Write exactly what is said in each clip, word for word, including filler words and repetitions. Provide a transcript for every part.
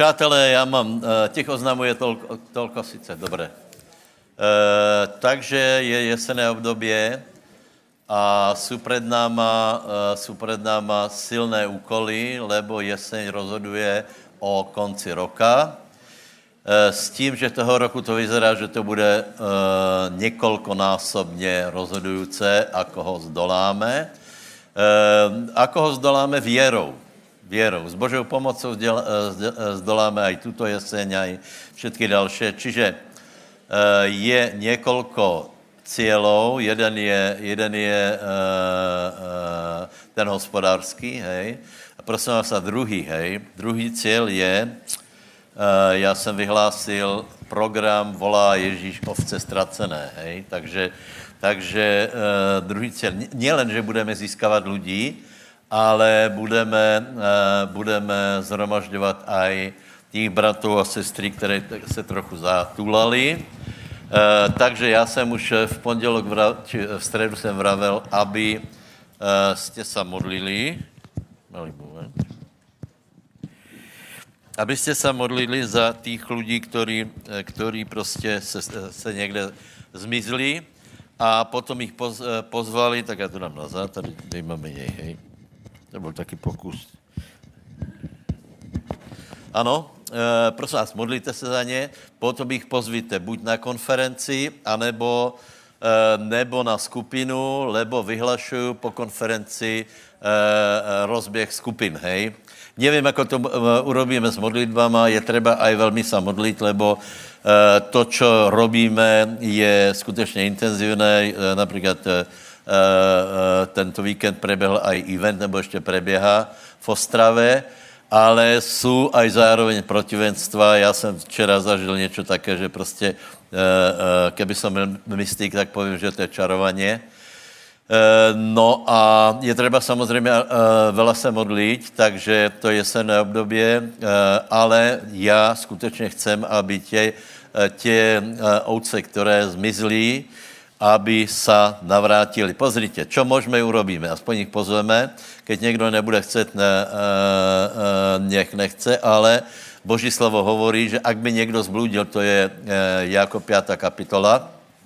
Přátelé, já mám, těch oznamuje tolko, tolko sice, dobré. E, takže je jesenné obdobie a sú pred náma, sú pred náma silné úkoly, lebo jeseň rozhoduje o konci roka. E, s tím, že toho roku to vyzerá, že to bude e, niekoľkonásobne rozhodujúce, ako ho zdoláme. E, ako ho zdoláme vierou. Vierou. S Božou pomocou zdoláme aj túto jeseň, aj všetky ďalšie. Čiže je niekoľko cieľov. Jeden je, jeden je ten hospodářský, hej. A prosím vás, a druhý, hej. Druhý cieľ je, já jsem vyhlásil program Volá Ježíš ovce ztracené, hej. Takže, takže druhý cieľ, nielen, že budeme získávat lidí, ale budeme, budeme zhromažďovat aj těch bratů a sestry, které se trochu zatulali. Takže já jsem už v pondělok, či v středu jsem vravel, aby jste se modlili, abyste se modlili za těch lidí, ktorí, ktorí prostě se, se někde zmizli a potom jich poz, pozvali, tak já to dám nazad, tady, tady máme jej, hej. To byl taky pokus. Ano, e, prosím vás, modlíte se za ně, potom jich pozvíte buď na konferenci, anebo, e, nebo na skupinu, lebo vyhlašuju po konferenci e, rozběh skupin, hej. Nevím, ako to urobíme s modlitbama, je treba aj veľmi sa modliť, lebo e, to, čo robíme, je skutečně intenzivné, e, například e, Uh, uh, tento víkend preběhl aj event, nebo ještě preběhá v Ostrave, ale jsou aj zároveň protivenstva. Já jsem včera zažil něco také, že prostě, uh, uh, keby som byl mystik, tak povím, že to je čarovanie. Uh, no a je třeba samozřejmě uh, veľa se modliť, takže to je jesenné období, uh, ale já skutečně chcem, aby tě, uh, tě uh, ovce, které zmizlí, aby sa navrátili. Pozrite, čo môžeme urobíme, aspoň ich pozveme, keď niekto nebude chcet, ne, e, e, nech nechce, ale Boží slovo hovorí, že ak by niekto zblúdil, to je e, Jákob piata kapitola,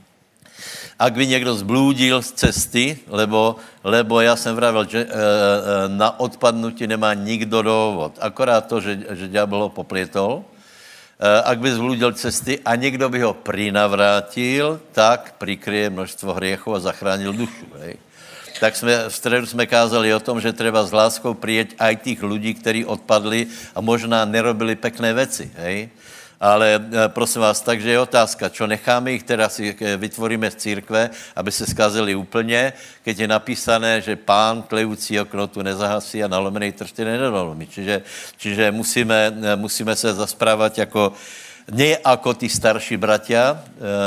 ak by niekto zblúdil z cesty, lebo, lebo ja som vravel, že e, e, na odpadnutí nemá nikdo dôvod, akorát to, že, že diabol ho poplietol. Ak by zblúdil cesty a někdo by ho prinavrátil, tak prikryje množstvo hriechov a zachránil dušu. Hej. Tak jsme, v středu jsme kázali o tom, že treba s láskou přijet aj tých ľudí, kteří odpadli a možná nerobili pekné veci. Hej. Ale prosím vás, takže je otázka, čo necháme ich, teda si vytvoríme z církve, aby se skazili úplně, keď je napísané, že pán tlejúcí okno tu nezahasí a nalomenej tršty nedolomí. Čiže, čiže musíme, musíme se zasprávat jako, ne jako ty starší bratia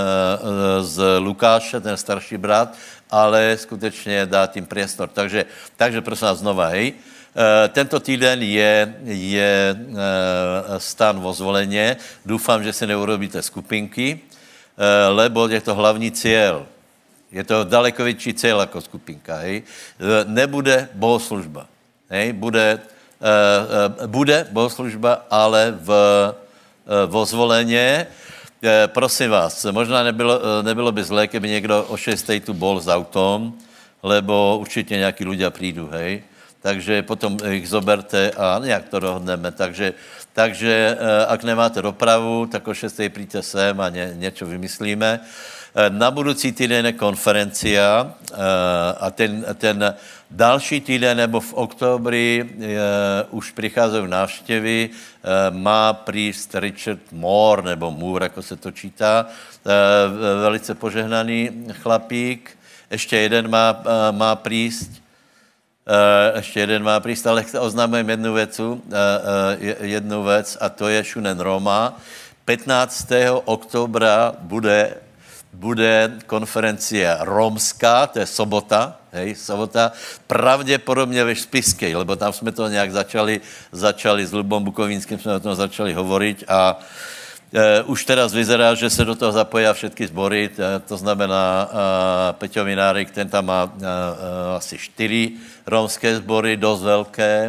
z Lukáše, ten starší brat, ale skutečně dát jim priestor. Takže, takže prosím vás znova, hej. Tento týden je, je stan vo zvoleně. Doufám, že si neurobíte skupinky, lebo je to hlavní cieľ. Je to daleko větší cieľ jako skupinka. Hej. Nebude bohoslužba. Hej. Bude, bude bohoslužba, ale v, vo zvoleně. Prosím vás, možná nebylo, nebylo by zlé, keby někdo o šestej tu bol s autom, lebo určitě nějaký ľudia prídu, hej. Takže potom ich zoberte a nějak to dohodneme. Takže, takže ak nemáte dopravu, tak o šestej príďte sem a ně, něco vymyslíme. Na budoucí týden je konferencia a ten, ten další týden nebo v oktobri už přicházejí návštěvy. Má prísť Richard Moore, nebo Moore, jako se to čítá. Velice požehnaný chlapík. Ještě jeden má, má prísť. Uh, ještě jeden má prísť, ale oznámujem jednu věcu, uh, uh, jednu věc a to je Šunen Roma. pätnáctého oktobra bude, bude konferencia romská, to je sobota, hej, sobota, pravděpodobně ve Spiskej, lebo tam jsme to nějak začali, začali s Lubom Bukovínským, jsme o tom začali hovoriť a Uh, už teraz vyzerá, že se do toho zapojí všetky sbory, uh, to znamená uh, Peťo Minárik, ten tam má uh, uh, asi čtyři romské sbory, dost velké.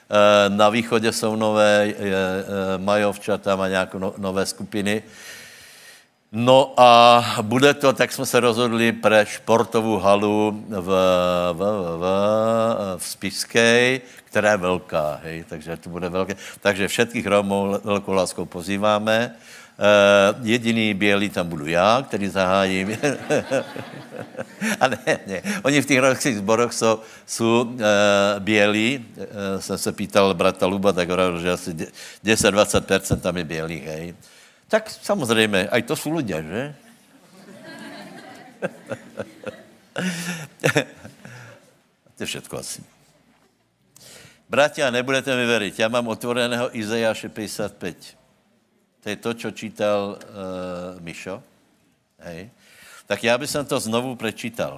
na východě jsou nové majovčata, má nějaké no, nové skupiny. No a bude to, tak jsme se rozhodli pre športovou halu v, v, v, v Spišskej, která je velká, hej, takže to bude velké. Takže všetkých Romů velkou láskou pozýváme. Uh, jediný bělý tam budu já, který zahájím. A ne, ne. Oni v těch romských zboroch jsou, jsou uh, bělí. Uh, jsem se pýtal brata Luba, tak hovoril, že asi deset až dvacet procent tam je bělých, hej. Tak samozřejmě, aj to jsou lidé, že? To je všetko asi. Bratia, nebudete mi veriť, já mám otvoreného Izajáše päťdesiatpäť. To je to, čo čítal uh, Mišo. Hej. Tak já bych to znovu prečítal.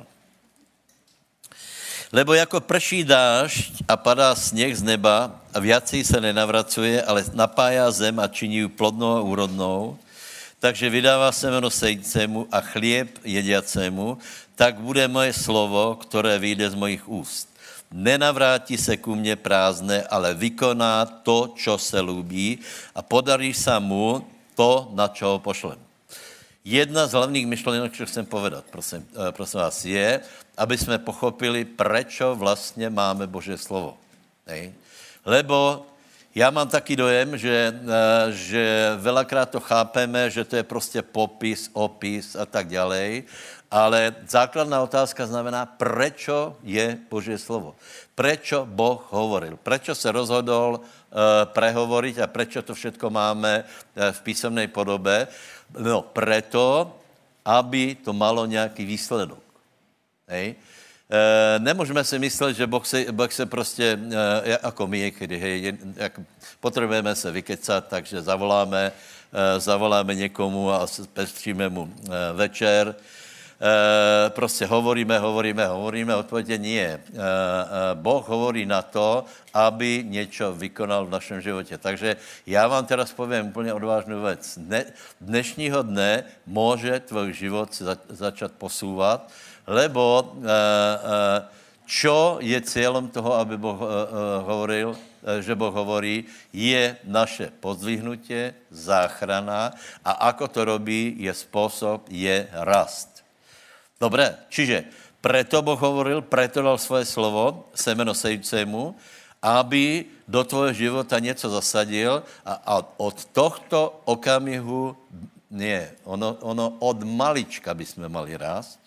Lebo jako prší dážď a padá sněh z neba a viacej se nenavracuje, ale napájá zem a činí ju plodnou a úrodnou, takže vydává semeno sejícému a chlieb jediacému, tak bude moje slovo, které vyjde z mojich úst. Nenavrátí se ku mne prázdné, ale vykoná to, čo se lúbí a podarí sa mu to, na čo ho pošlem. Jedna z hlavných myšlenok, čo chcem povedať, prosím, prosím vás, je, aby sme pochopili, prečo vlastne máme Božie slovo. Hej? Lebo já mám taký dojem, že, že veľakrát to chápeme, že to je prostě popis, opis a tak ďalej, ale základná otázka znamená, prečo je Božie slovo. Prečo Boh hovoril. Prečo se rozhodol uh, prehovoriť a prečo to všetko máme uh, v písemnej podobe. No, preto, aby to malo nějaký výsledok. Hej. E, nemůžeme si myslet, že Boh se, boh se prostě, e, jako my, kdy, hej, jak potřebujeme se vykecat, takže zavoláme, e, zavoláme někomu a pestříme mu e, večer. E, prostě hovoríme, hovoríme, hovoríme, odpověď nie. E, e, Boh hovorí na to, aby něco vykonal v našem životě. Takže já vám teraz povím úplně odvážnou věc. Dne, dnešního dne může tvůj život za, začat posouvat, lebo e, e, čo je cílem toho, aby Boh e, e, hovoril, e, že Boh hovorí, je naše pozdvihnutie, záchrana a ako to robí, je způsob, je rast. Dobre, čiže preto Boh hovoril, preto dal svoje slovo semeno sejúcemu, aby do tvojho života něco zasadil a, a od tohto okamihu, nie, ono, ono od malička by sme mali rásť.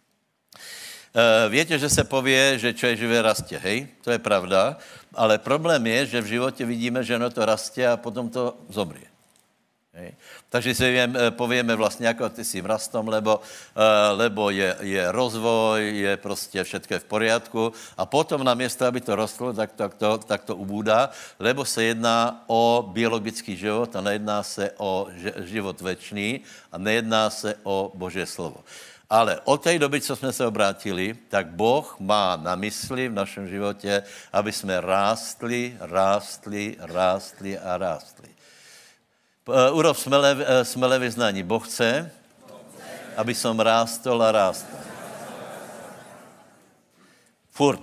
E, viete, že se povie, že čo je živé rastě, hej? To je pravda, ale problém je, že v životě vidíme, že ono to rastě a potom to zomrie. Hej. Takže si viem, povieme vlastne, ako ty si rastom, lebo, uh, lebo je, je rozvoj, je prostě všetko je v poriadku a potom namiesto, aby to rostlo, tak, tak, to, tak to ubúdá, lebo se jedná o biologický život a nejedná se o život večný a nejedná se o Božie slovo. Ale od té doby, co jsme se obrátili, tak Boh má na mysli v našem životě, aby jsme rástli, rástli, rástli a rástli. Uh, urob smelé, uh, smelé vyznání. Boh chce, aby som rástol a rástol. Furt.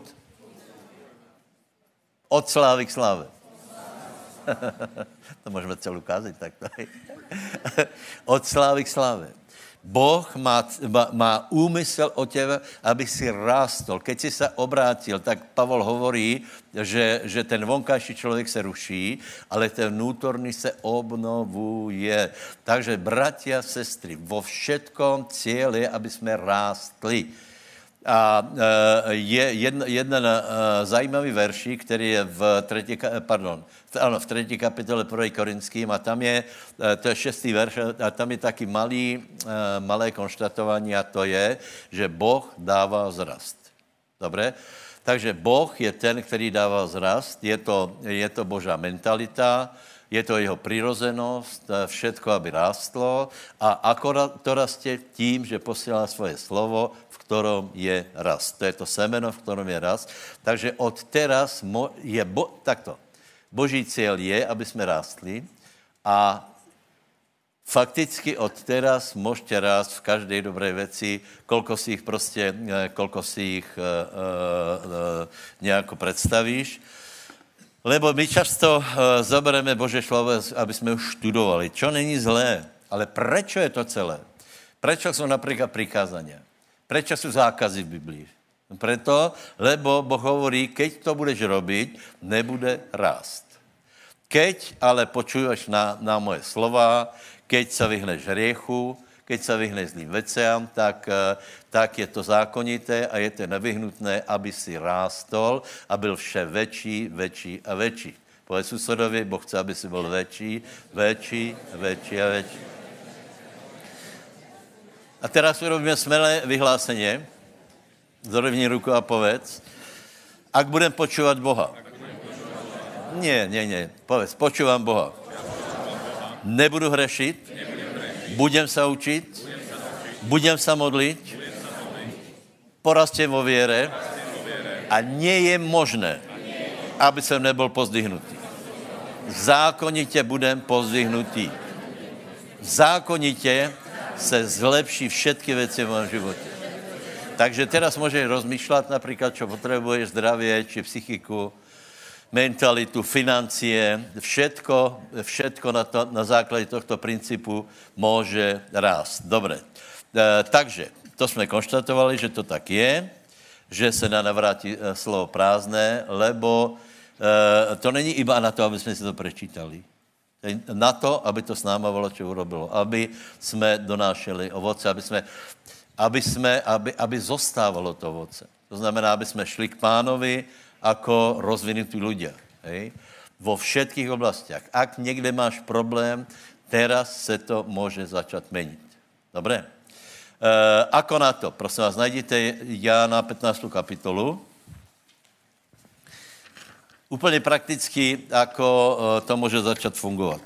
Od slávy k sláve. To můžeme celou kázať takto. Od slávy k sláve. Boh má, má úmysel o tebe, aby si rástol. Keď si sa obrátil, tak Pavol hovorí, že, že ten vonkajší člověk se ruší, ale ten vnútorný se obnovuje. Takže, bratia, sestry, vo všetkom cieľ je, aby sme rástli. A je jeden, jeden zajímavý veršík, který je v třetí, pardon, ano, v třetí kapitole první Korinským a tam je, to je šestý verš a tam je taky malý, malé konštatování a to je, že Boh dává vzrast. Dobré? Takže Boh je ten, který dává vzrast, je to, je to Božá mentalita, je to jeho přirozenost, všetko, aby rástlo a akorát to rastě tím, že posílá svoje slovo, v ktorom je rast. To je to semeno, v ktorom je rast. Takže od teraz je, bo, takto, Boží cieľ je, aby jsme rástli a fakticky od teraz môžete rásť v každej dobrej veci, koľko si ich prostě, koľko si ich uh, uh, nejako predstavíš. Lebo my často uh, zoberieme Božie slovo, aby sme ho študovali. Čo není zlé, ale prečo je to celé? Prečo sú napríklad prikázania? Prečo sú zákazy v Biblii? Preto, lebo Boh hovorí, keď to budeš robiť, nebude rásť. Keď ale počuješ na, na moje slova, keď sa vyhneš hriechu, keď sa vyhneš zlým veciam, tak, tak je to zákonité a je to nevyhnutné, aby si rástol a byl vše väčší, väčší a väčší. Povedz susedovi, Boh chce, aby si byl väčší, väčší, väčší a väčší. A teraz urobíme smelé vyhlásenie. Zrovni ruku a povedz. Ak budem počúvať Boha. Nie, nie, nie. Povedz, počúvam Boha. Nebudu hrešiť. Budem sa učiť. Budem sa modliť. Porastiem vo viere. A nie je možné, aby som nebol pozdvihnutý. Zákonite budem pozdvihnutý. Zákonite se zlepší všetky veci v mojom živote. Takže teraz môžeš rozmýšľať napríklad, čo potrebuješ, zdravie, či psychiku, mentalitu, financie, všetko, všetko na, to, na základe tohto princípu môže rásť. Dobre, e, takže to sme konštatovali, že to tak je, že sa na navráti e, slovo prázdne, lebo e, to není iba na to, aby sme si to prečítali. Na to, aby to s náma bolo, čo urobilo. Aby sme donášeli ovoce, aby sme, aby, sme, aby, aby zostávalo to ovoce. To znamená, aby sme šli k Pánovi ako rozvinutí ľudia. Hej? Vo všetkých oblastiach. Ak niekde máš problém, teraz sa to môže začať meniť. Dobre? E, ako na to? Prosím vás, nájdete Jána pätnástu kapitolu. Úplne prakticky, ako to môže začať fungovať.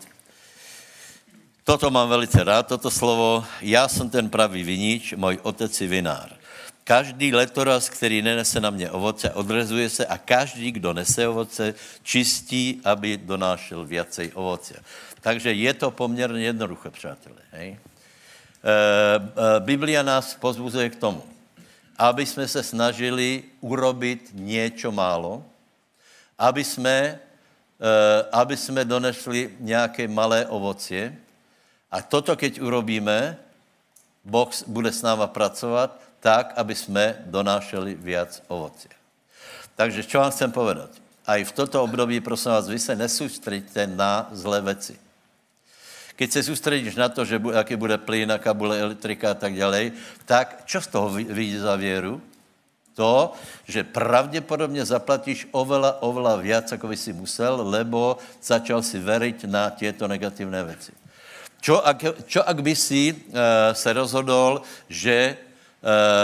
Toto mám velice rád, toto slovo. Ja som ten pravý vinič, môj otec je vinár. Každý letoraz, ktorý nenese na mne ovoce, odrezuje sa a každý, kdo nese ovoce, čistí, aby donášel viacej ovocia. Takže je to pomerne jednoduché, přátelé. Hej? E, e, Biblia nás pozbuzuje k tomu, aby sme sa snažili urobiť niečo málo, aby sme, aby sme donesli nejaké malé ovocie. A toto, keď urobíme, Boh bude s náma pracovať tak, aby sme donášali viac ovocia. Takže čo vám chcem povedať? Aj v toto období, prosím vás, vy sa nesústredíte na zlé veci. Keď sa sústredíš na to, že aký bude plyn, aká bude elektrika a tak ďalej, tak čo z toho vyjde za vieru? To, že pravdepodobne zaplatíš oveľa, oveľa viac, ako by si musel, lebo začal si veriť na tieto negatívne veci. Čo ak, čo ak by si uh, sa rozhodol, že uh,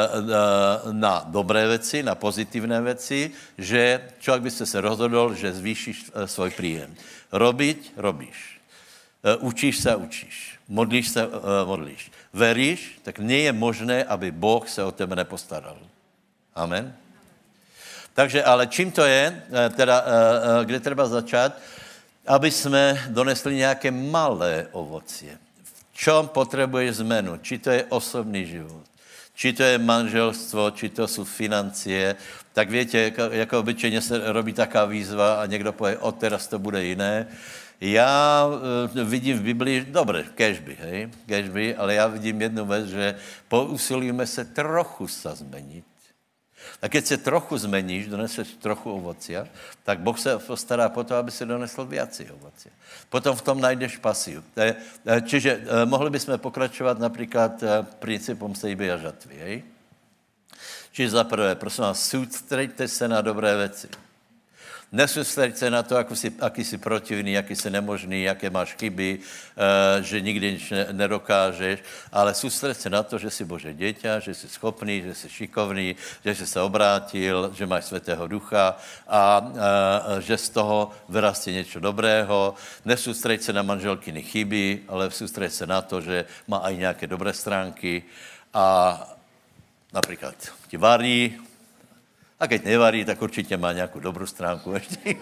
na dobré veci, na pozitívne veci, že čo ak by si sa rozhodol, že zvýšiš uh, svoj príjem. Robiť, robíš. Uh, učíš sa, učíš. Modlíš sa, uh, modlíš. Veríš, tak nie je možné, aby Boh sa o tebe nepostaral. Amen. Takže, ale čím to je, teda, kde treba začať, aby sme donesli nejaké malé ovocie. V čom potrebuješ zmenu? Či to je osobný život, či to je manželstvo, či to sú financie. Tak viete, ako obyčejne sa robí taká výzva a niekto povie, od teraz to bude iné. Ja vidím v Biblii, dobre, kežby, hej, kežby, ale ja vidím jednu vec, že pousilujeme sa trochu sa zmeniť. A keď sa trochu zmeníš, doneseš trochu ovocia, tak Boh sa postará po to, aby si donesol viacej ovocia. Potom v tom nájdeš pasiu. Čiže mohli by sme pokračovať napríklad princípom sejby a žatvy. Hej? Čiže za prvé, prosím vás, sústreďte sa na dobré veci. Nesústreď sa na to, ako si, aký si protivný, aký si nemožný, aké máš chyby, uh, že nikdy nič nedokážeš, ale sústreď sa na to, že si Bože dieťa, že si schopný, že si šikovný, že si sa obrátil, že máš Svätého Ducha a uh, že z toho vyrastie niečo dobrého. Nesústreď sa na manželkyny chyby, ale sústreď sa na to, že má aj nejaké dobré stránky a napríklad ti varí. A keď nevarí, tak určite má nejakú dobrú stránku ešte.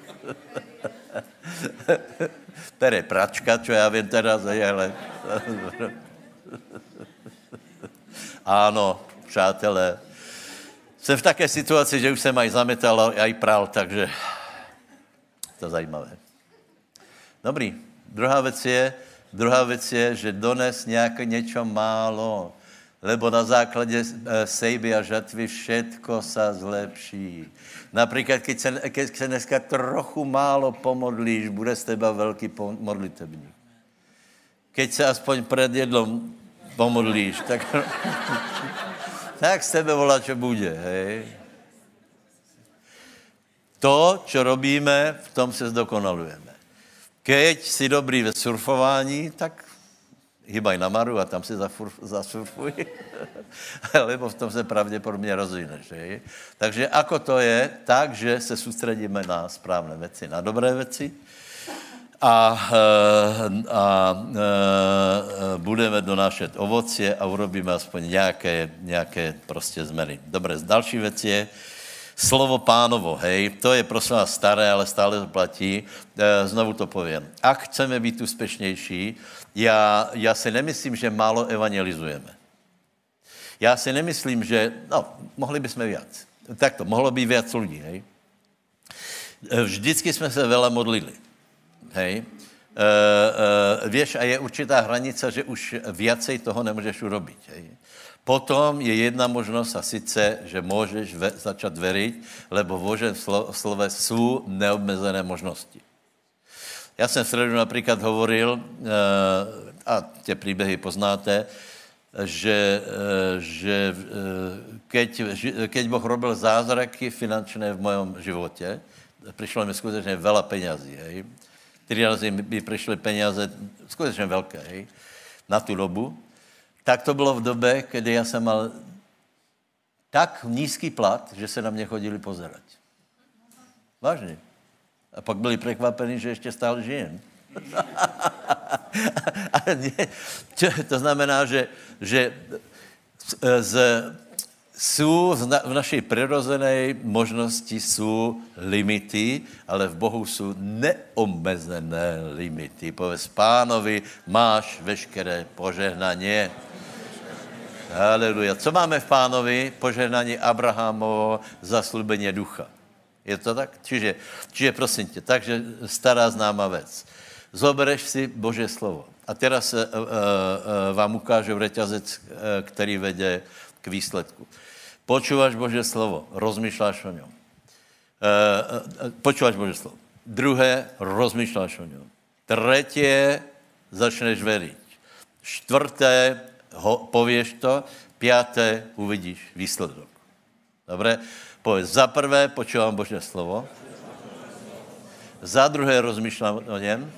Pere pračka, čo ja viem teraz, ale... Áno, přátelé. Som v také situácii, že už som aj zametal, aj pral, takže To zajímavé. Dobrý. Druhá věc je, druhá věc je, že dones nějaké něco málo, lebo na základě sejby a žatvy všetko sa zlepší. Například, keď se, keď se dneska trochu málo pomodlíš, bude z teba velký modlitebník. Keď se aspoň před jedlom pomodlíš, tak, tak z tebe volá, čo bude, hej. To, čo robíme, v tom se zdokonalujeme. Keď si dobrý ve surfování, tak hýbaj na Maru a tam si zasurfuj, lebo v tom se pravděpodobně rozvineš. Hej? Takže ako to je? Tak, že se soustředíme na správné věci, na dobré věci a, a, a budeme donášet ovocie a urobíme aspoň nějaké, nějaké prostě změny. Dobré, další věc je slovo Pánovo, hej, to je prosím vás staré, ale stále to platí. E, znovu to povím. Ak chceme být úspěšnější, já, já si nemyslím, že málo evangelizujeme. Já si nemyslím, že, no, mohli bychom víc. Takto, mohlo být víc lidí, hej. Vždycky jsme se veľa modlili, hej. E, e, vieš, a je určitá hranice, že už viacej toho nemůžeš urobit, hej. Potom je jedna možnost a sice, že můžeš ve, začat veriť, lebo v Božím slo, slove jsou neobmezené možnosti. Já jsem v středu například hovoril, a tie příběhy poznáte, že, že keď, keď Boh robil zázraky finančné v mojom životě, přišlo mi skutečně veľa peňazí, hej. Tři razy mi přišly peníze skutečně velké, hej, na tu dobu. Tak to bylo v době, kdy já jsem mal tak nízký plat, že se na mě chodili pozerať. Vážně. A pak byli překvapení, že ještě stále žijem. To znamená, že, že z, jsou v, na, v naší přirozené možnosti jsou limity, ale v Bohu jsou neomezené limity. Povedz Pánovi, máš veškeré požehnanie. Haleluja. Co máme v Pánovi? Požehnání Abrahamovo, zaslúbenie ducha. Je to tak? Čiže, čiže prosím tě, takže stará známa věc. Zobereš si Božie slovo. A teraz uh, uh, uh, vám ukážu reťazec, uh, který vede k výsledku. Počúvaš Božie slovo, rozmýšľaš o ňom. Uh, uh, počúvaš Božie slovo. Druhé, rozmýšľaš o ňom. Tretie, začneš veriť. Štvrté, ho, povieš to. Piaté, uvidíš výsledok. Dobre? Povedz, za prvé, počúvam Božie slovo. Za druhé, rozmýšľam o něm.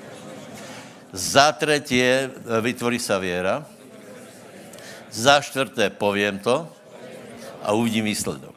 Za tretie, vytvorí sa viera. Za štvrté, poviem to a uvidím výsledok.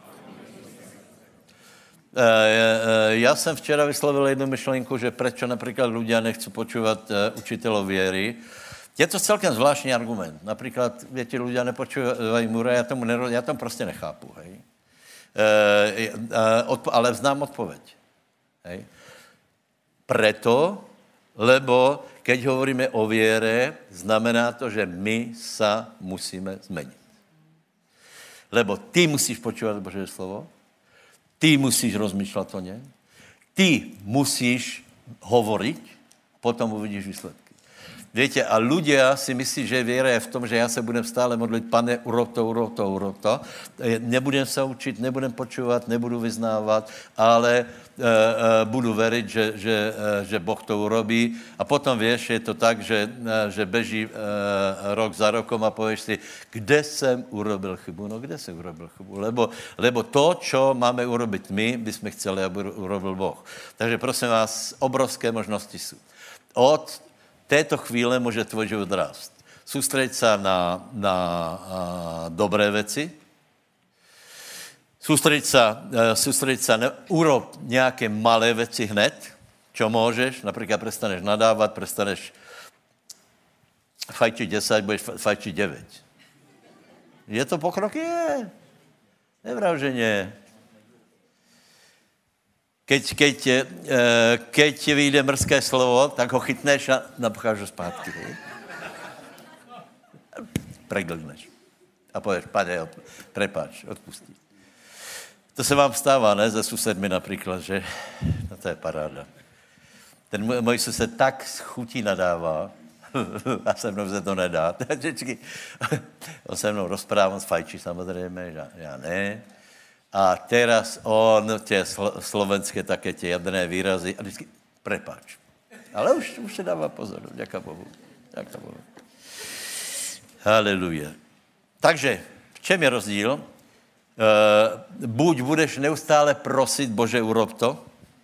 Ja som včera vyslovil jednu myšlenku, že prečo napríklad ľudia nechcú počúvať učiteľov viery. Je to celkem zvláštní argument. Například, viete, ľudia nepočúvajú Mura, já tomu, nero, já tomu prostě nechápu, hej. E, e, odpo, ale znám odpoveď. Hej. Preto, lebo keď hovoríme o viere, znamená to, že my sa musíme zmeniť. Lebo ty musíš počúvať Božie slovo, ty musíš rozmýšľať o něm, ty musíš hovoriť, potom uvidíš výsledky. Viete, a ľudia si myslí, že viera je v tom, že ja sa budem stále modliť, Pane, urob to, urob to, urob to. Nebudem sa učiť, nebudem počúvať, nebudu vyznávať, ale e, e, budu veriť, že, že, e, že Boh to urobí. A potom vieš, je to tak, že, e, že beží e, rok za rokom a povieš si, kde jsem urobil chybu? No, kde jsem urobil chybu? Lebo, lebo to, čo máme urobiť my, by sme chceli, aby urobil Boh. Takže prosím vás, obrovské možnosti sú. Od této chvíle může tvoj život rást. Soustřeď se na, na a, dobré věci. Soustřeď se, soustřeď se na urob nějaké malé věci hned, čo můžeš. Například prestaneš nadávat, prestaneš fajčiť desať, budeš fajčiť deväť. Je to pokrok? Je. Nevrav, že nie. Keď, keď, keď ti vyjde mrzké slovo, tak ho chytneš a napcháš ho zpátky. Preglneš. A povieš, Pane, prepáč, odpustí. To se vám stává, ne, se susedmi například, že? No to je paráda. Ten můj, můj sused tak z chutí nadává, a se mnou se to nedá. On se mnou rozprává, s fajčí samozřejmě, já, já ne. A teraz on, tě slo, slovenské také tě jadrné výrazy, a vždycky, prepáč. Ale už, už se dává pozor, děká Bohu. Děká Bohu. Haleluja. Takže, v čem je rozdíl? E, buď budeš neustále prosit, Bože, urob to,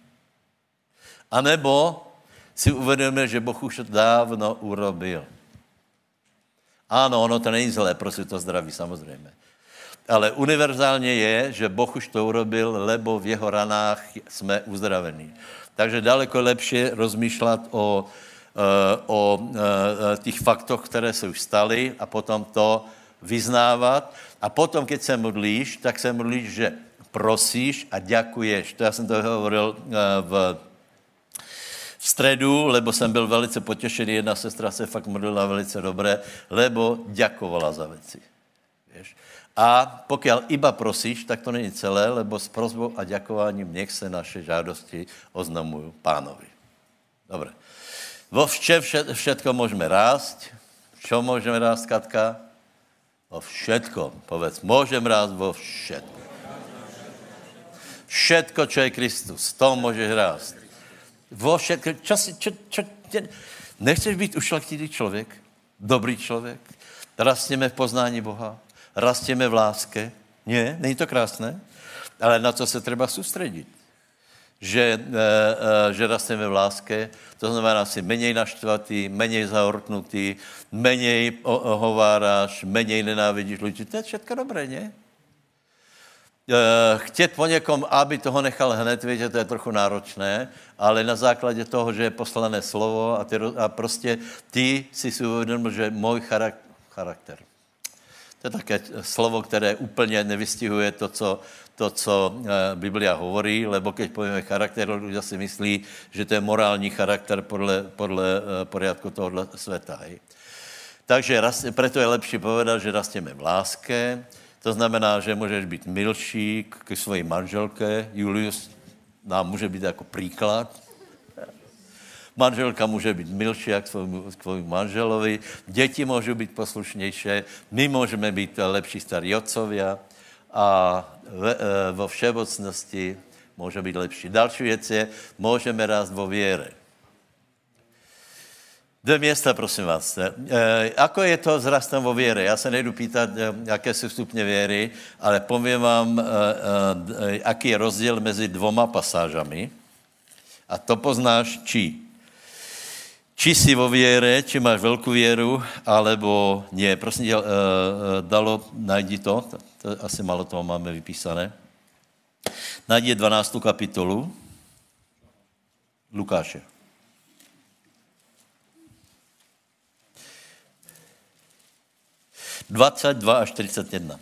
anebo si uvědomil, že Boh už to dávno urobil. Ano, ono to není zlé, prosit to zdraví, samozřejmě. Ale univerzálně je, že Boh už to urobil, lebo v jeho ranách jsme uzdravení. Takže daleko lepší rozmýšlet o, o těch faktoch, které se už staly a potom to vyznávat. A potom, keď se modlíš, tak se modlíš, že prosíš a děkuješ. To já jsem to hovoril v, v středu, lebo jsem byl velice potěšený. Jedna sestra se fakt modlila velice dobré, lebo děkovala za věci. Víš? A pokud iba prosíš, tak to není celé, lebo s prosbou a ďakováním nech se naše žádosti oznamují Pánovi. Dobre. Vo vše, vše, všetko můžeme rást. Čo můžeme rást, Katka? Vo všetko. Povedz, můžem rást vo všetko. Všetko, čo je Kristus, to můžeš rást. Vo všetko. Čo si, čo, čo, čo, nechceš být ušlachtilý člověk? Dobrý člověk? Rastněme v poznání Boha? Rastíme v láske. Nie, není to krásné? Ale na to se třeba soustředit. Že, e, e, že rastíme v láske, to znamená si menej naštvatý, menej zahorknutý, menej hováráš, menej nenávidíš ľudí. To je všetko dobré, nie? E, chtět po někom, aby toho nechal hned, víte, to je trochu náročné, ale na základě toho, že je poslané slovo a, ty, a prostě ty si si uvědomil, že můj charak, charakter. To je také slovo, které úplně nevystihuje to, co, to, co Biblia hovorí, lebo keď povieme charakter, ľudia si myslí, že to je morální charakter podle, podle poriadku tohoto světa. Hej. Takže preto je lepší povedat, že rasteme v láske, to znamená, že můžeš být milší k svojí manželke. Julius nám může být jako příklad. Manželka může být milší jak k svojmu manželovi, děti můžou být poslušnější, my můžeme být lepší starí otcovia a vo všeobecnosti může být lepší. Další věc je, můžeme rást vo věre. Dvě města, prosím vás. E, ako je to s rastem vo věre? Já se nejdu pýtat, jaké jsou stupně věry, ale povím vám, e, e, aký je rozdíl mezi dvoma pasážami. A to poznáš či. Či jsi vo věre, či máš velkou věru, alebo nie. Prosím tě, Dalo, najdi to, to asi malo toho máme vypísané. Najdi dvanáctou kapitolu Lukáše. dvacet dva až čtyřicet jedna.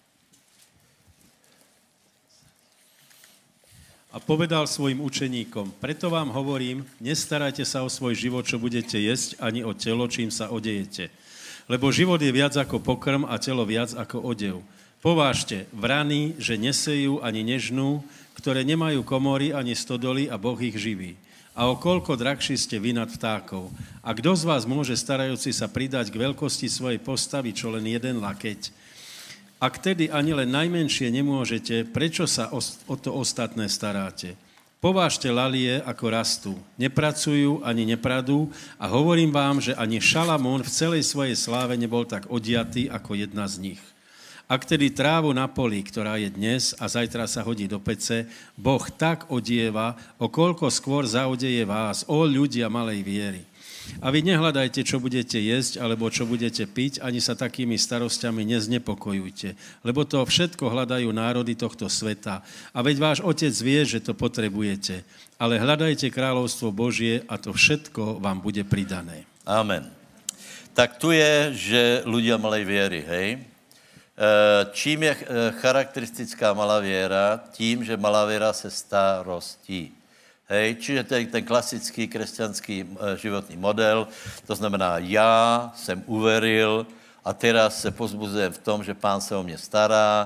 A povedal svojim učeníkom, preto vám hovorím, nestarajte sa o svoj život, čo budete jesť, ani o telo, čím sa odejete. Lebo život je viac ako pokrm a telo viac ako odev. Povážte, vrany, že nesejú ani nežnú, ktoré nemajú komory ani stodoly a Boh ich živí. A o koľko drahší ste vy nad vtákov. A kto z vás môže starajúci sa pridať k veľkosti svojej postavy, čo len jeden lakeť? Ak tedy ani len najmenšie nemôžete, prečo sa o to ostatné staráte? Povážte lalie, ako rastú. Nepracujú ani nepradú a hovorím vám, že ani Šalamón v celej svojej sláve nebol tak odiatý ako jedna z nich. Ak tedy trávu na poli, ktorá je dnes a zajtra sa hodí do pece, Boh tak odieva, o koľko skôr zaodeje vás, o ľudia malej viery. A vy nehľadajte, čo budete jesť, alebo čo budete piť, ani sa takými starostiami neznepokojujte, lebo to všetko hľadajú národy tohto sveta. A veď váš Otec vie, že to potrebujete. Ale hľadajte kráľovstvo Božie a to všetko vám bude pridané. Amen. Tak tu je, že ľudia malej viery, hej? Čím je charakteristická malá viera? Tím, že malá viera se starostí. Hej, čiže to je ten klasický křesťanský životní model, to znamená, já jsem uveril a teraz se pozbuzujem v tom, že Pán se o mě stará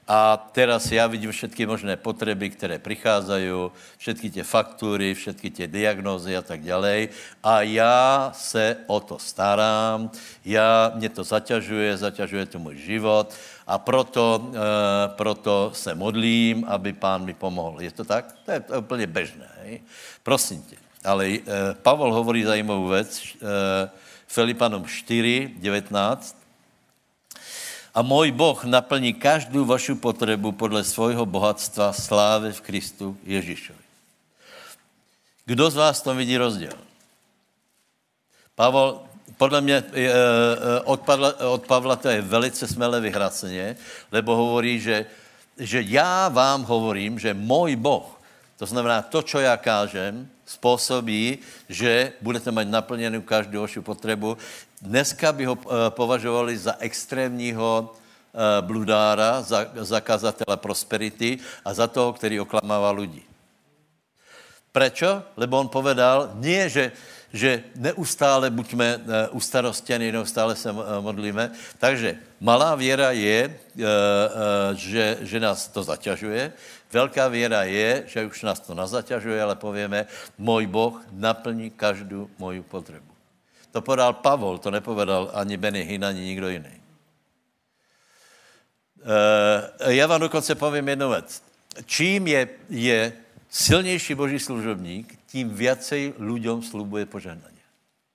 A teraz ja vidím všetky možné potreby, které prichádzajú, všetky tie faktúry, všetky tie diagnózy a tak ďalej. A ja se o to starám, ja, mne to zaťažuje, zaťažuje to môj život a proto, e, proto se modlím, aby Pán mi pomohl. Je to tak? To je, to je úplne bežné. Hej? Prosím tě. Ale e, Pavol hovorí zajímavou vec, e, Filipanom štyri devätnásť. A môj Boh naplní každú vašu potrebu podle svojho bohatstva slávy v Kristu Ježišovi. Kdo z vás tom vidí rozdiel? Pavol, podle mě od Pavla, od Pavla to je velice smelé vyhracenie, lebo hovorí, že, že já vám hovorím, že môj Boh, to znamená to, čo ja kážem, spôsobí, že budete mať naplněnou každou vašu potrebu. Dneska by ho považovali za extrémního bludára, za zakazatele prosperity a za toho, který oklamává ľudí. Prečo? Lebo on povedal, nie, že, že neustále buďme ustarostěni, neustále se modlíme. Takže malá věra je, že, že nás to zaťažuje. Velká věra je, že už nás to nezaťažuje, ale povieme, môj Boh naplní každou moju potrebu. To podal Pavol, to nepovedal ani Benny Hinn, ani nikdo jiný. E, já vám dokonce povím jednu věc. Čím je, je silnější Boží služobník, tím viacej ľuďom slubuje požehnanie.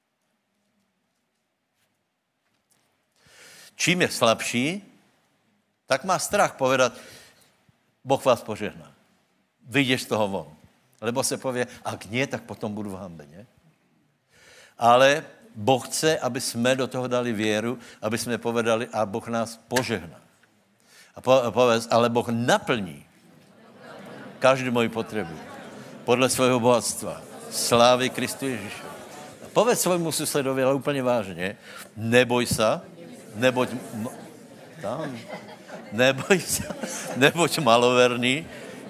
Čím je slabší, tak má strach povedat, Boh vás požehná. Vyjdeš z toho von. Lebo se pově, ak nie, tak potom budu v hanbe, ne? Ale Boh chce, aby jsme do toho dali věru, aby jsme povedali, a Boh nás požehná. A povedz, ale Boh naplní každou moji potřebu podle svého bohatstva. Slávy Kristu Ježišovi. A povedz svojmu susedovi, ale úplně vážně, neboj sa, neboť, tam, neboj sa, neboť maloverný,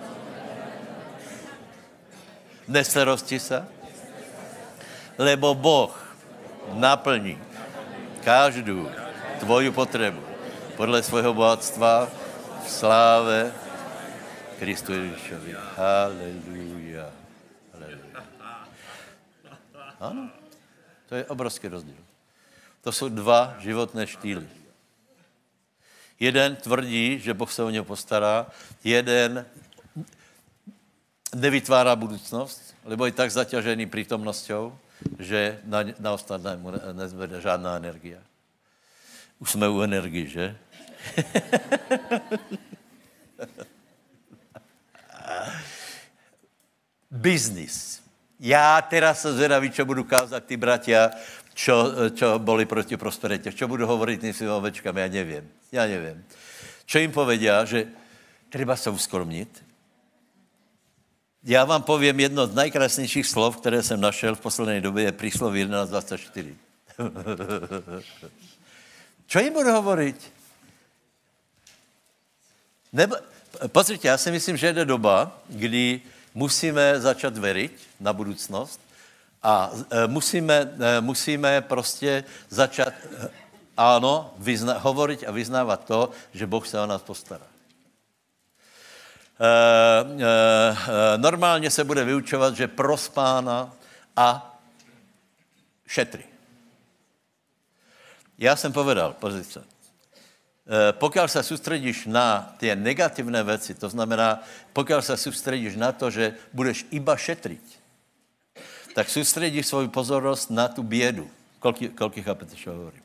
neslerosti sa, lebo Boh naplní každou tvoju potřebu podle svého bohatstva v sláve Kristu Ježišovi. Haleluja. Haleluja. Ano, to je obrovský rozdíl. To jsou dva životné štýly. Jeden tvrdí, že Boh se o něho postará, jeden nevytvárá budoucnost, lebo je tak zaťažený prítomnosťou, že na, na ostatné mu nezvede žádná energia. Už jsme u energii, že? Biznis. Já teraz se zvedavý, čo budu kázat ty bratia, čo, čo boli proti prosperitě. Čo budu hovoriť tým svým ovečkám, já nevím. Já nevím. Čo jim povedia, že treba se uskromnit. Já vám povím jedno z najkrásnějších slov, které jsem našel v poslední době, je prísloví jedenáct dvacet čtyři. Čo jim budu hovoriť? Nebo, pozrite, já si myslím, že je doba, kdy musíme začat veriť na budoucnost a e, musíme, e, musíme prostě začat, e, ano, vyzna, hovoriť a vyznávat to, že Boh se o nás postará. E, e, e, normálně se bude vyučovat, že pros Pána a šetri. Já jsem povedal, pozice. Pokud se soustředíš na ty negativné věci, to znamená, pokud se soustředíš na to, že budeš iba šetriť, tak soustředíš svou pozornost na tu bědu. Kolik, kolik chápete, čo hovorím?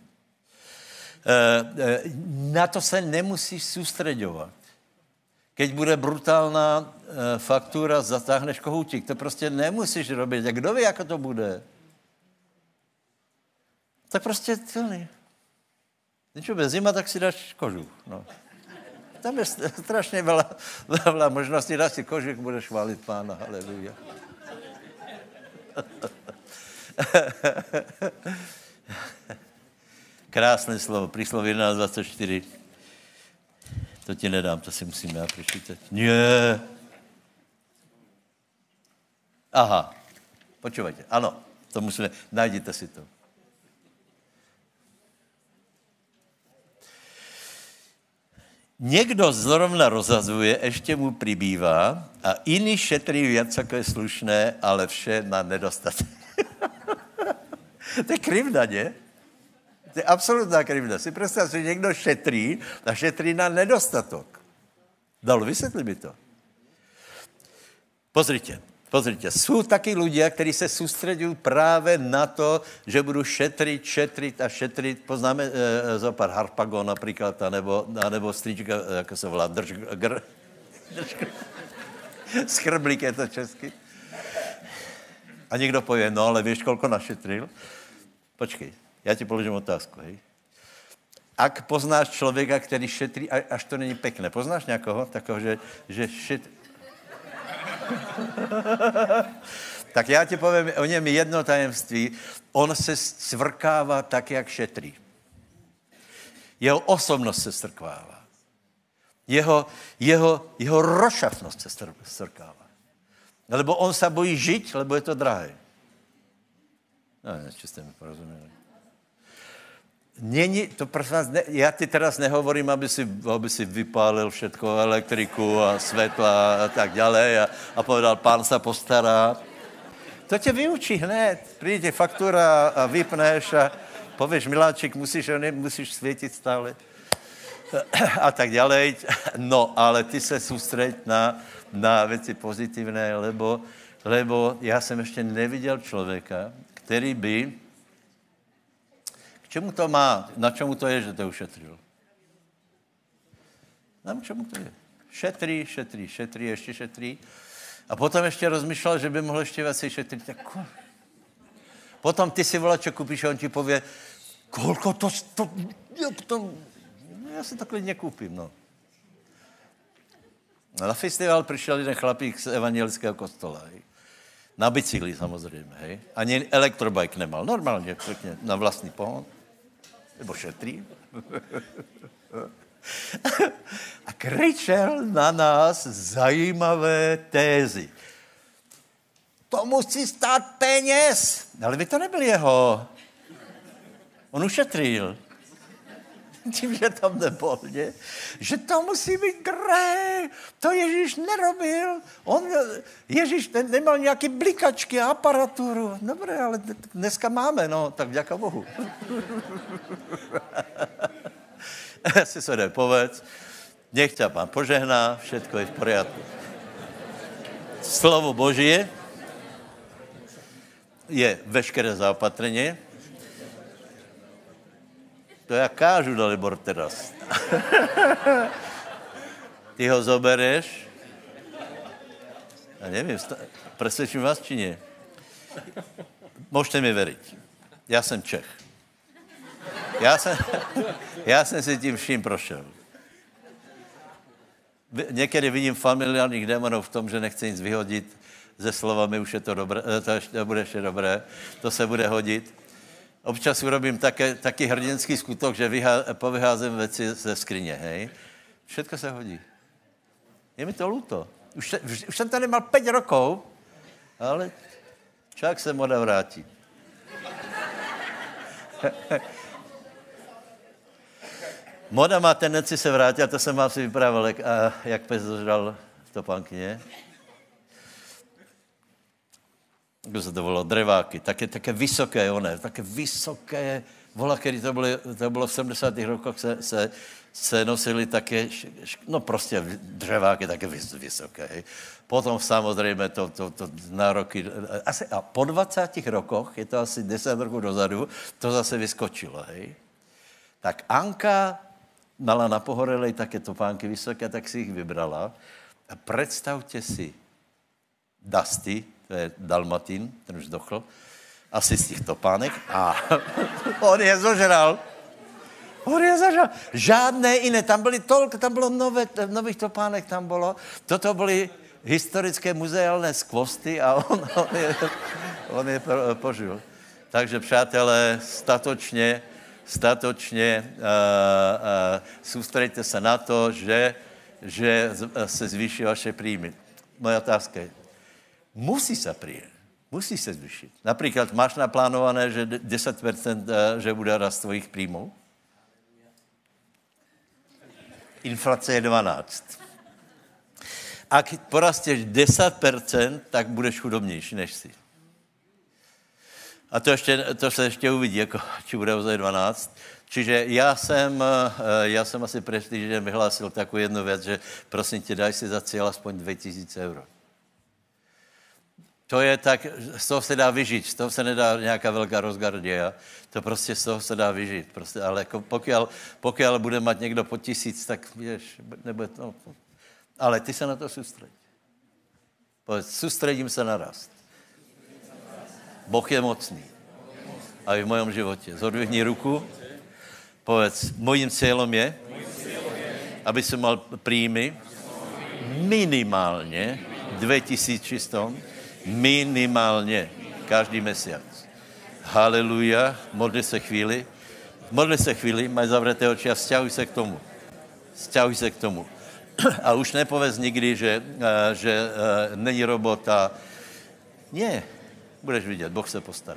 Na to se nemusíš soustředovat. Keď bude brutálna faktura, zatáhneš kohoutík. To prostě nemusíš robit. A kdo ví, jak to bude? Tak prostě celý. Když bude zima, tak si dáš kožuch. No. Tam je strašně veľa, veľa možností. Dáš si kožuch, budeš chválit Pána. Haleluja. Krásné slovo. Prísloví jedenáct dvacet čtyři. To ti nedám, to si musím já přečítat. Nie. Aha. Počúvajte. Ano, to musíme. Najděte si to. Někdo zrovna rozhazuje, ještě mu přibývá a jiný šetří věc, jako je slušné, ale vše na nedostatek. To je krivda, ne? To je absolutná krivda. Si představ, že někdo šetří a šetří na nedostatek. Dalo, vysvětli mi to. Pozrite, pozrite. Jsou taky ľudia, kteří se soustředují právě na to, že budu šetřit, šetřit a šetřit. Poznáme e, za pár Harpagon například, anebo, anebo strička, jak se volá, drž, gr, drž, skrblík je to česky. A někdo pově, no ale víš, kolko našetril? Počkej, já ti položím otázku, hej. Ak poznáš člověka, který šetří, až to není pekné, poznáš někoho takového, že, že šetří? Tak já ti povím o něm jedno tajemství. On se svrkává tak, jak šetří. Jeho osobnost se strkvává. Jeho, jeho, jeho rošafnost se strkává. Lebo on se bojí žít, lebo je to drahé. No, či jste mi porozuměli. Není, to prosím vás, ne, já ti teraz nehovorím, aby si, aby si vypálil všetko, elektriku a světla a tak dále a, a povedal, pán se postará. To tě vyučí hned. Přijde faktura a vypneš a pověš, miláček, musíš, ne, musíš světit stále. A tak dále. No, ale ty se soustřeď na, na věci pozitivné, lebo, lebo já jsem ještě neviděl člověka, který by čemu to má? Na čemu to je, že to ušetřil? Na čemu to je? Šetří, šetří, šetří, ještě šetří. A potom ještě rozmýšlel, že by mohl ještě věci šetřit. Tak potom ty si volače koupíš a on ti pově, kolko to, to, to já si to klidně koupím, no. Na festival přišel jeden chlapík z evangelického kostola, hej. Na bicykli samozřejmě, hej. Ani elektrobike nemal, normálně, pěkně, na vlastní pohon. Nebo šetří. A kričel na nás zajímavé tézy. To musí stát peněz. Ale by to nebyl jeho. On ušetřil. Tím, že tam nebyl, ne? Že to musí být gré. To Ježíš nerobil. On, Ježíš ne, nemal nějaký blikačky a aparaturu. Dobré, ale dneska máme, no, tak vďaka Bohu. Si se jde povedz. Nech ťa pán požehná, všetko je v poriadku. Slovo Božie je veškeré zaopatrenie. To já kážu, Dalibor, teraz. Ty ho zobereš a nevím, presvědčím vás, či nie. Můžete mi veriť. Já jsem Čech. Já jsem, já jsem si tím vším prošel. Někdy vidím familiárních démonů v tom, že nechci nic vyhodit ze slovami, už je to dobré, to ještě bude ještě dobré, to se bude hodit. Občas urobím také, taký hrdinský skutok, že vyhá, povyházím věci ze skrině, hej. Všetko se hodí. Je mi to luto. Už, už, už jsem tady mal pět rokov, ale čak se moda vrátí. Moda má tendenci se vrátit, a to jsem vám si vyprávěl, jak, a, jak pes dožral v topánkyně. Kdo se to volalo? Dreváky. Také, také vysoké, one, také vysoké, vola, který to bylo, to bylo v sedmdesátých rokoch, se, se, se nosili také, no prostě dřeváky také vysoké. Hej. Potom samozřejmě to, to, to nároky, asi, a po dvacátich rokoch, je to asi deset roků dozadu, to zase vyskočilo, hej. Tak Anka mala na pohorelej také topánky vysoké, tak si jich vybrala. A představte si Dusty, to je Dalmatin, ten už dochl, asi z těch topánek. A on je zožral. On je zožral. Žádné jiné. Tam byly tolko, tam bylo nové, nových topánek, tam bylo. Toto byly historické muzeálné skvosty a on, on je, on je požil. Takže, přátelé, statočně, statočně uh, uh, soustředíte se na to, že, že se zvýší vaše příjmy. Moja otázka je, musí se přijet, musí se zvýšit. Například máš naplánované, že deset procent že bude rast tvojich příjmů? inflace je dvanáct. Ak porasteš deset procent, tak budeš chudobnější než si. A to, ještě, to se ještě uvidí, jako, či bude ozaj dvanáct. Čiže já jsem, já jsem asi před týdnem vyhlásil takovou jednu věc, že prosím tě, daj si za cíl aspoň dvě tisíce euro. To je tak, z toho se dá vyžít, z toho se nedá nějaká velká rozgardia, to prostě z toho se dá vyžít. Prostě, ale jako pokud, pokud bude mít někdo po tisíc, tak víš, nebude to... Ale ty se na to soustředí. Povedz, soustředím se na rast. Boh je mocný. A i v mojom životě. Zodvihni ruku. Povedz, mojím cílem je, aby jsem mal príjmy minimálně dvě tisíce čistom, minimálně každý měsíc. Haleluja, modli se chvíli. Modli se chvíli, maj zavřeté oči a vzťahuj se k tomu. Vzťahuj se k tomu. A už nepověz nikdy, že, že není robota. Ne, budeš vidět, Boh se postará.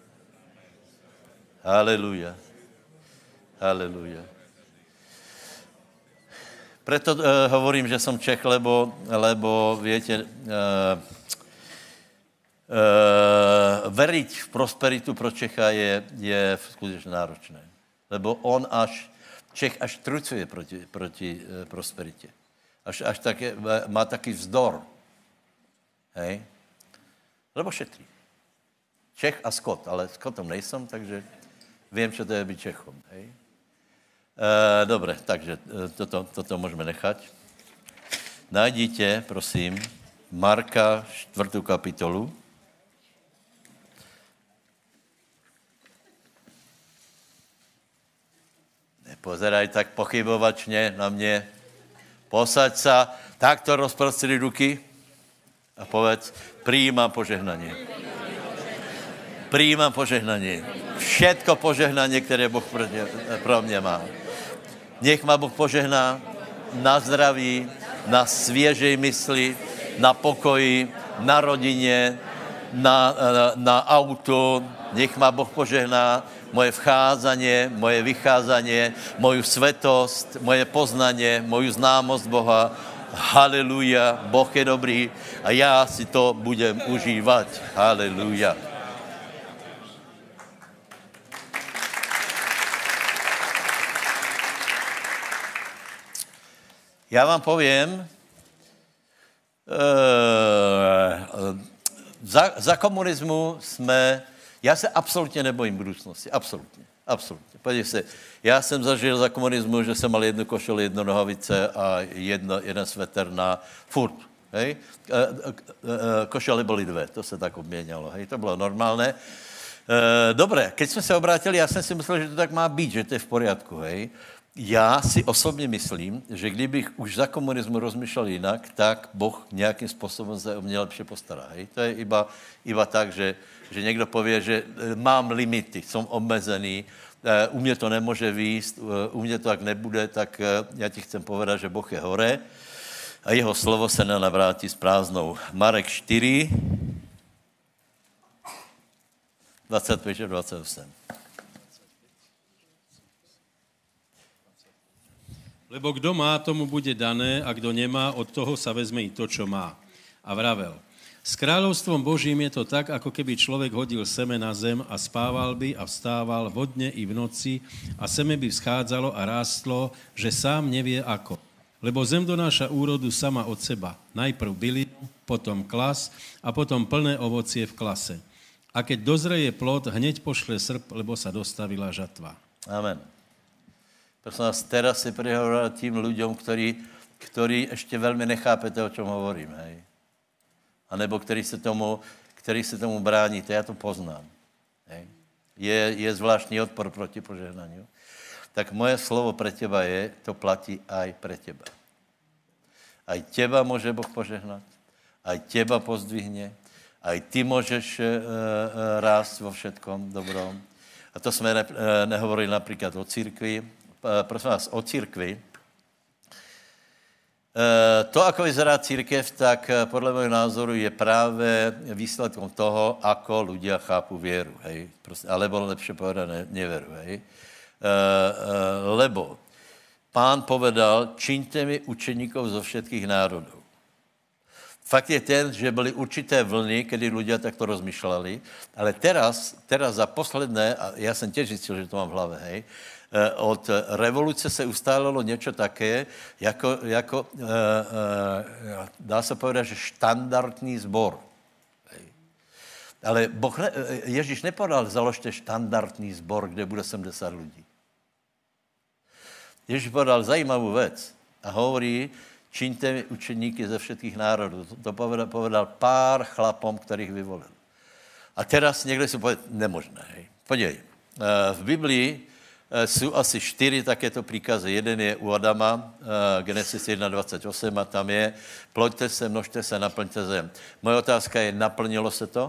Haleluja. Haleluja. Preto uh, hovorím, že jsem Čech, lebo, lebo viete, uh, uh, veriť v prosperitu pro Čecha je, je skutečně náročné. Lebo on až, Čech až trucuje proti, proti uh, prosperitě. Až, až také, má taký vzdor. Hej? Lebo šetří. Čech a Skot, ale Skotom nejsem, takže vím, čo to je být Čechom. Hej? E, dobre, takže toto, toto můžeme nechat. Najdíte, prosím, Marka čtvrtou kapitolu. Nepozeraj tak pochybovačně na mě. Posaď sa, takto rozprostri ruky a povedz, prijímám požehnanie. Prijímám požehnanie. Všetko požehnanie, které Boh pro mě má. Nech ma Boh požehná na zdraví, na svěžej mysli, na pokoji, na rodině, na, na, na auto. Nech ma Boh požehná moje vcházanie, moje vycházanie, moju svetost, moje poznanie, moju známost Boha. Haleluja, Boh je dobrý a já si to budem užívat. Haleluja. Já vám povím, uh, za, za komunismu jsme, já se absolutně nebojím budoucnosti, absolutně, absolutně. Podívej se, já jsem zažil za komunismu, že jsem mal jednu košelu, jednu nohavice a jedno, jeden sveter na furt, hej. Košely byly dvě, to se tak obměňalo, hej, to bylo normálné. Dobré, keď jsme se obrátili, já jsem si myslel, že to tak má být, že to je v poriadku, hej. Já si osobně myslím, že kdybych už za komunismu rozmýšlel jinak, tak Boh nějakým způsobem se o mě lepše postará. Hej? To je iba, iba tak, že, že někdo pově, že mám limity, jsem omezený, u mě to nemůže výjist, u mě to tak nebude, tak já ti chcem povedat, že Boh je hore a jeho slovo se nenavrátí s prázdnou. Marek čtyři, dvacet pět a dvacet osm. Lebo kdo má, tomu bude dané, a kdo nemá, od toho sa vezme i to, čo má. A vravel, s kráľovstvom Božím je to tak, ako keby človek hodil seme na zem a spával by a vstával vodne i v noci a seme by vzchádzalo a rástlo, že sám nevie ako. Lebo zem donáša úrodu sama od seba. Najprv bylinu, potom klas a potom plné ovocie v klase. A keď dozreje plod, hneď pošle srp, lebo sa dostavila žatva. Amen. Prosím vás, teraz si prihovoril tým ľuďom, ktorí, ktorí ešte veľmi nechápete, o čom hovorím, hej. A nebo ktorí se tomu, ktorí se tomu bráníte, já to poznám, hej. Je, je zvláštní odpor proti požehnaniu. Tak moje slovo pre teba je, to platí aj pre teba. Aj teba môže Boh požehnať, aj teba pozdvihne, aj ty môžeš uh, uh, rásť vo všetkom dobrom. A to sme ne, uh, nehovorili napríklad o církvi. Prosím vás, o církvi. To, ako vyzerá církev, tak podle mého názoru je právě výsledkom toho, ako ľudia chápu věru, hej. Prostě, alebo lepšie povedané, neveru, hej. Lebo Pán povedal, čiňte mi učeníkov zo všetkých národov. Fakt je ten, že byly určité vlny, kedy ľudia takto rozmýšľali, ale teraz, teraz za posledné, a ja som tiež zistil, že to mám v hlave, hej, od revoluce se ustálilo niečo také, jako, jako e, e, dá sa povedať, že štandardný zbor. Hej. Ale boh ne, Ježíš nepovedal, založte štandardný zbor, kde bude sedemdesiat ľudí. Ježíš povedal zajímavú vec a hovorí, čiňte mi učeníky ze všetkých národů. To povedal, povedal pár chlapom, ktorých vyvolil. A teraz niekto si povie, nemožné. Hej. Podívej, v Biblii sú asi čtyři takéto príkazy. Jeden je u Adama, Genesis jedna dvadsaťosem, a tam je, ploďte se, množte se, naplňte zem. Moje otázka je, naplnilo se to?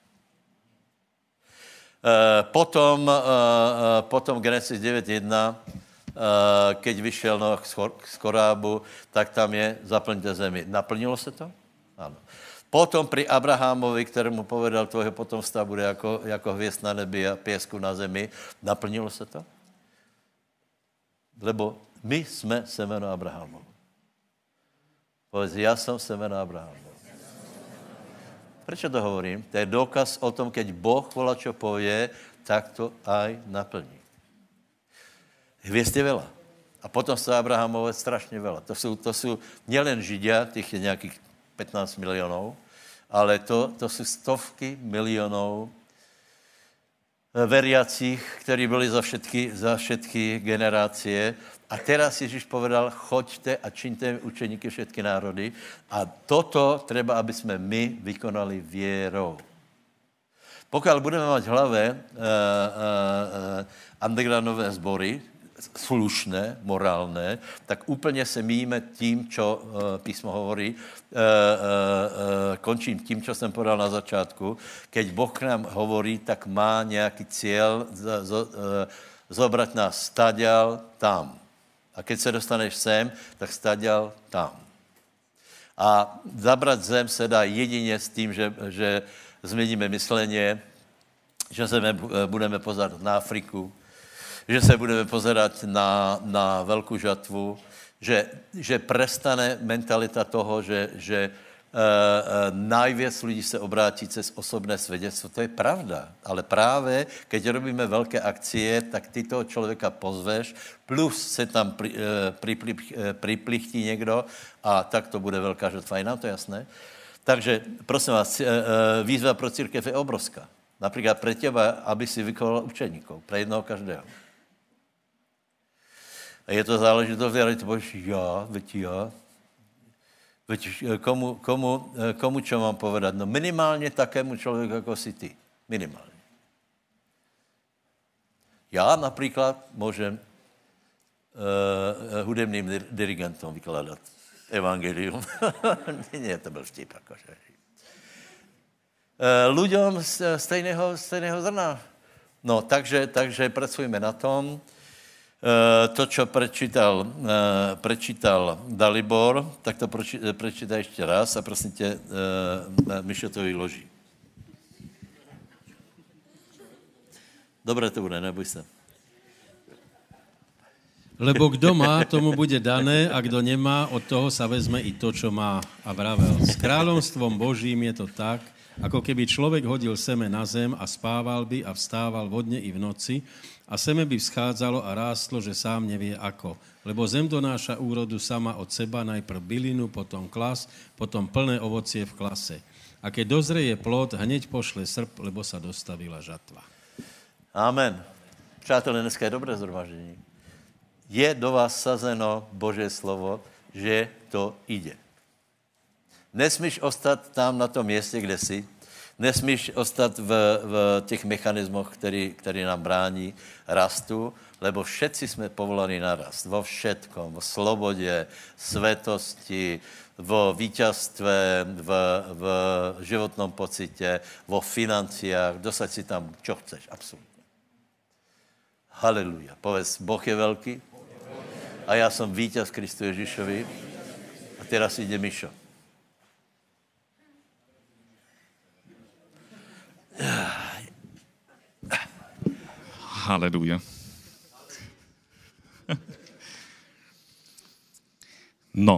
Potom, potom Genesis devět jedna, keď vyšel Noach z korábu, tak tam je, zaplňte zemi. Naplnilo se to? Áno. Potom pri Abrahamovi, ktorému povedal, tvojho potomstva bude jako, jako hviezd na nebi a piesku na zemi, naplnilo se to? Lebo my sme semeno Abrahamovo. Povedz, ja som semeno Abrahamovo. Prečo to hovorím? To je dôkaz o tom, keď Boh volá, čo povie, tak to aj naplní. Hviezd je veľa. A potom sa Abrahamové strašne veľa. To sú, to sú nielen Židia, tých je nejakých pätnásť miliónov, ale to, to sú stovky miliónov veriacich, ktorí byli za všetky, za všetky generácie. A teraz Ježíš povedal, choďte a čiňte učeníky všetky národy. A toto treba, aby sme my vykonali vierou. Pokiaľ budeme mať v hlave uh, uh, uh, undergroundové zbory, slušné, morálne, tak úplne se míjime tím, čo uh, písmo hovorí. Uh, uh, uh, končím tím, čo jsem povedal na začátku. Keď Boh k nám hovorí, tak má nějaký cieľ z, z, uh, zobrať nás stadial tam. A keď se dostaneš sem, tak stadial tam. A zabrať zem se dá jedině s tím, že, že změníme myslenie, že se budeme pozerať na Afriku, že se budeme pozerať na, na veľkú žatvu, že, že prestane mentalita toho, že, že e, e, najviac ľudí se obrátí cez osobné svedectvo. To je pravda, ale práve, keď robíme veľké akcie, tak ty toho človeka pozveš, plus se tam pri, e, pripli, e, priplichtí niekto a tak to bude veľká žatva. Je nám to jasné? Takže, prosím vás, e, e, výzva pro církev je obrovská. Napríklad pre teba, aby si vykoval učeníkov, pre jednoho každého. A je to záležitost, ale ty povíš, já, veď já. Veď komu, komu, komu čo mám povedať? No minimálně takému člověku, jako si ty. Minimálně. Já například můžem uh, hudebným dirigentom vykladat evangelium. Nie, to byl vtip, akože. Uh, ľuďom stejného, stejného zrna. No, takže, takže pracujeme na tom. To, čo prečítal, prečítal Dalibor, tak to prečítaj ešte raz a prosím tě, Mišo to vyloží. Dobre to bude, neboj sa. Lebo kdo má, tomu bude dané, a kdo nemá, od toho sa vezme i to, čo má. A vravel, s kráľovstvom Božím je to tak, ako keby človek hodil seme na zem a spával by a vstával vodne i v noci, a seme by vzchádzalo a rástlo, že sám nevie ako. Lebo zem donáša úrodu sama od seba, najprv bylinu, potom klas, potom plné ovocie v klase. A keď dozreje plod, hneď pošle srp, lebo sa dostavila žatva. Amen. Přátelé, dneska je dobré zhromaždení. Je do vás sazeno Božie slovo, že to ide. Nesmíš ostat tam na tom městě, kde jsi. Nesmíš ostat v, v těch mechanismoch, který, který nám brání rastu, lebo všetci jsme povolaní na rast. Vo všetkom, v slobodě, svetosti, vo víťazstve, v, v životnom pocite, vo financiách. Dosaď si tam, čo chceš, absolutně. Haleluja. Povedz, Boh je velký a já jsem víťaz Kristu Ježíšovi. A teraz ide Mišo. Halleluja. No.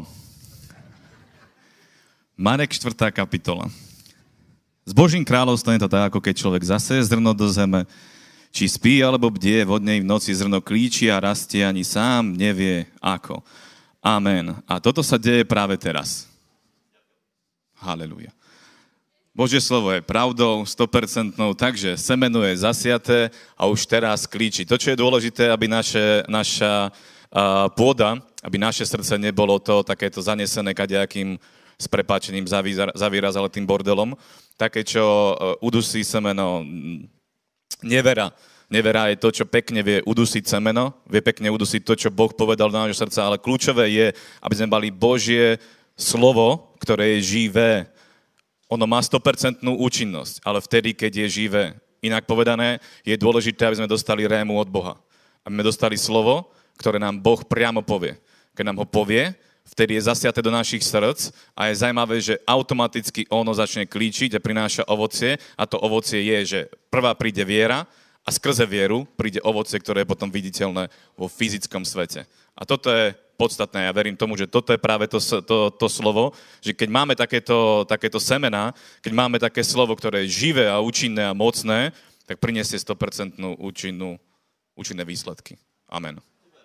Marek štvrtá kapitola. S Božím kráľovstvom je to tak, ako keď človek zaseje zrno do zeme, či spí alebo bdie, vodnej v noci zrno klíči a rastie, ani sám nevie ako. Amen. A toto sa deje práve teraz. Haleluja. Božie slovo je pravdou, sto percent, takže semeno je zasiaté a už teraz klíči. To, čo je dôležité, aby naše, naša uh, pôda, aby naše srdce nebolo to takéto zanesené kadejakým s prepáčením zavyrazalým bordelom, také, čo uh, udusí semeno. Nevera. Nevera je to, čo pekne vie udusiť semeno, vie pekne udusiť to, čo Boh povedal do nášho srdca, ale kľúčové je, aby sme mali Božie slovo, ktoré je živé. Ono má sto percent účinnosť, ale vtedy, keď je živé. Inak povedané, je dôležité, aby sme dostali rému od Boha. Aby sme dostali slovo, ktoré nám Boh priamo povie. Keď nám ho povie, vtedy je zasiaté do našich srdc a je zaujímavé, že automaticky ono začne klíčiť a prináša ovocie a to ovocie je, že prvá príde viera a skrze vieru príde ovocie, ktoré je potom viditeľné vo fyzickom svete. A toto je podstatné. Ja verím tomu, že toto je práve to, to, to slovo, že keď máme takéto, takéto semená, keď máme také slovo, ktoré je živé a účinné a mocné, tak priniesie sto percent účinnú, účinné výsledky. Amen.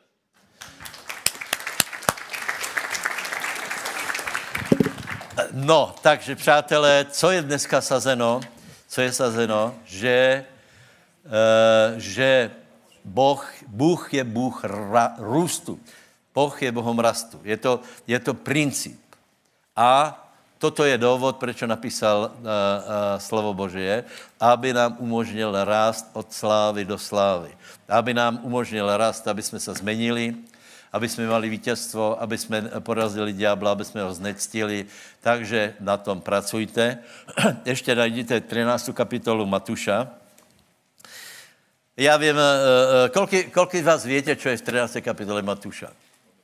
No, takže přátelé, co je dneska sazeno? Co je sazeno? Že, uh, že Boh, Bůh je Bůh ra, růstu. Boh je Bohom rastu. Je to, je to princip. A toto je důvod, proč napísal uh, uh, slovo Božie, aby nám umožnil rást od slávy do slávy. Aby nám umožnil rást, aby jsme se zmenili, aby jsme mali vítězstvo, aby jsme porazili ďábla, aby jsme ho znectili. Takže na tom pracujte. Ještě najděte třináctou kapitolu Matuša. Já vím, kolik, kolik z vás větě, čo je v třinácté kapitole Matuša?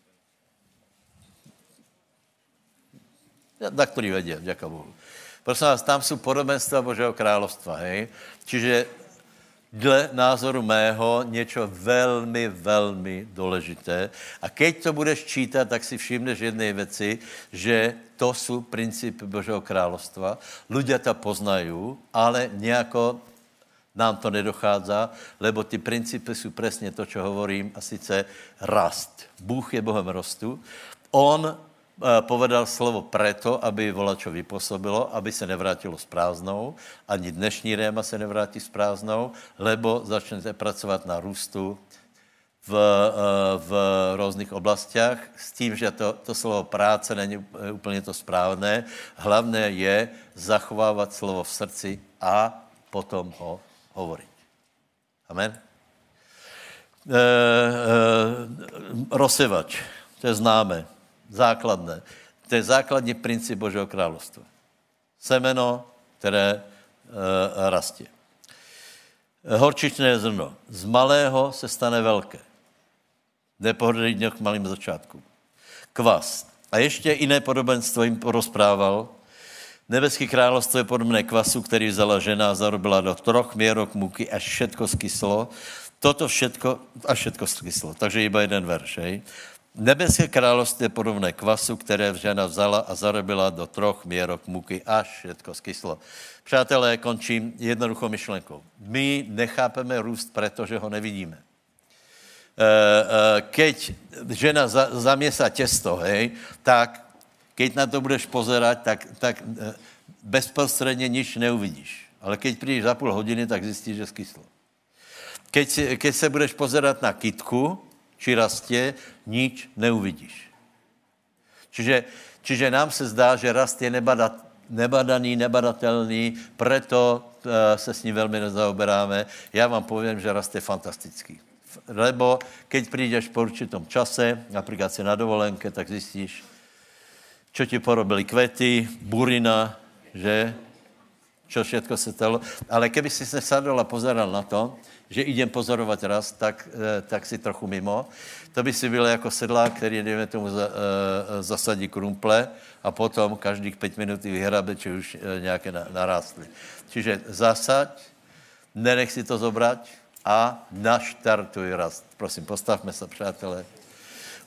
Na který vědě, děkuji Bohu. Prosím vás, tam jsou podobenstva Božího královstva, hej? Čiže dle názoru mého něco velmi, velmi důležité. A keď to budeš čítat, tak si všimneš jedné věci, že to jsou principy Božího královstva. Ľudia to poznají, ale nějako nám to nedochádza, lebo ty principy jsou přesně to, čo hovorím, a sice rast. Bůh je Bohem rostu. On povedal slovo preto, aby volačo vypůsobilo, aby se nevrátilo s prázdnou, ani dnešní réma se nevrátí s prázdnou, lebo začnete pracovat na růstu v, v různých oblastiach, s tím, že to, to slovo práce není úplně to správné. Hlavné je zachovávat slovo v srdci a potom ho hovoriť. Amen. E, e, rozsevač, to je známe. Základné. To je základní princip Božího královstva. Semeno, které e, rastě. Horčičné zrno. Z malého se stane velké. Nepohodlí k malým začátku. Kvas. A ještě jiné podobenstvo jim porozprával. Nebeský královstvo je podobné kvasu, který vzala žena a zarobila do troch měrok múky, až všetko skyslo. Toto všetko, až všetko skyslo. Takže iba jeden verš, hej. Nebeské království je podobné kvasu, které žena vzala a zarobila do troch měrok múky, až všetko skyslo. Přátelé, končím jednoduchou myšlenkou. My nechápeme růst, protože ho nevidíme. Keď žena zamiesá těsto, hej, tak keď na to budeš pozerať, tak, tak bezprostředně nič neuvidíš. Ale keď přijdeš za půl hodiny, tak zjistíš, že skyslo. Keď, keď se budeš pozerať na kytku, či rastě, nič neuvidíš. Čiže, čiže nám se zdá, že rast je nebadat, nebadaný, nebadatelný, preto uh, se s ním velmi nezaoberáme. Já vám povím, že rast je fantastický. Lebo keď přijdeš po určitom čase, například si na dovolenke, tak zjistíš, čo ti porobili kvety, burina, že? Čo všetko se stalo. Ale keby si se sadol a pozeral na to, že idem pozorovat rast, tak, tak si trochu mimo. To by si byl jako sedlák, který, dejme tomu, za, zasadí krumple a potom každých pět minut vyhrabe, či už nějaké narástly. Čiže zasaď, nenech si to zobrať a naštartuj rast. Prosím, postavme se, přátelé.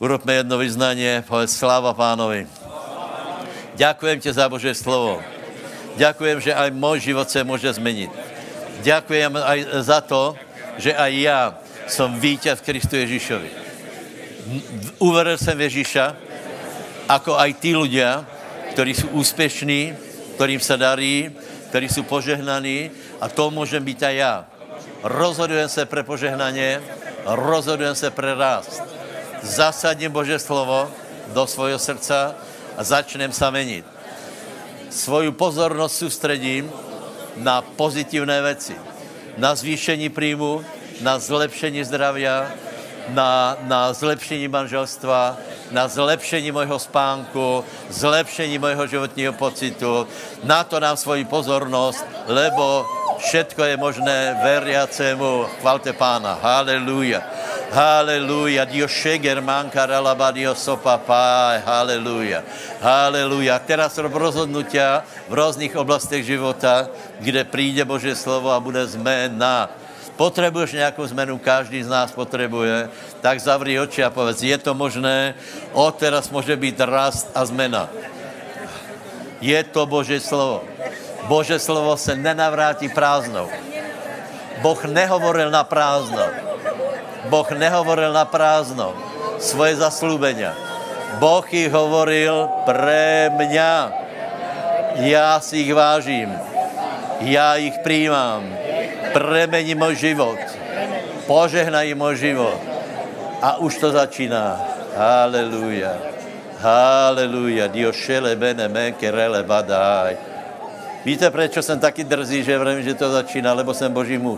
Urobme jedno vyznanie, povedz sláva Pánovi. Ďakujem ti za Božie slovo. Ďakujem, že aj môj život sa môže zmeniť. Ďakujem aj za to, že aj ja som víťaz v Kristu Ježišovi. Uveril som Ježiša, ako aj tí ľudia, ktorí sú úspešní, ktorým sa darí, ktorí sú požehnaní, a to môžem byť aj ja. Rozhodujem sa pre požehnanie, rozhodujem sa pre rast. Zasadím Božie slovo do svojho srdca a začnem sa meniť. Svoju pozornosť sústredím na pozitívne veci. Na zvýšení príjmu, na zlepšení zdravia, na, na zlepšení manželstva, na zlepšení môjho spánku, zlepšení môjho životního pocitu. Na to dám svoji pozornosť, lebo všetko je možné veriacemu. Chvalte Pána. Halelúja. Halelúja. Dios šeger manka ralaba Dios sopapá. Halelúja. Halelúja. Teraz rob rozhodnutia v rôznych oblastiach života, kde príde Božie slovo a bude zmena. Potrebuješ nejakú zmenu, každý z nás potrebuje, tak zavri oči a povedz, je to možné, odteraz môže byť rast a zmena. Je to Božie slovo. Božie slovo sa nenavráti prázdnou. Boh nehovoril na prázdno. Boh nehovoril na prázdno svoje zaslúbenia. Boh ich hovoril pre mňa. Ja si ich vážim. Ja ich prijímam. Premení môj život. Požehnaj môj život. A už to začíná. Halelúja. Halelúja. Dios šele bene menke rele badaj. Víte, prečo som taký drzý, že vrem, že to začína? Lebo som Boží muž.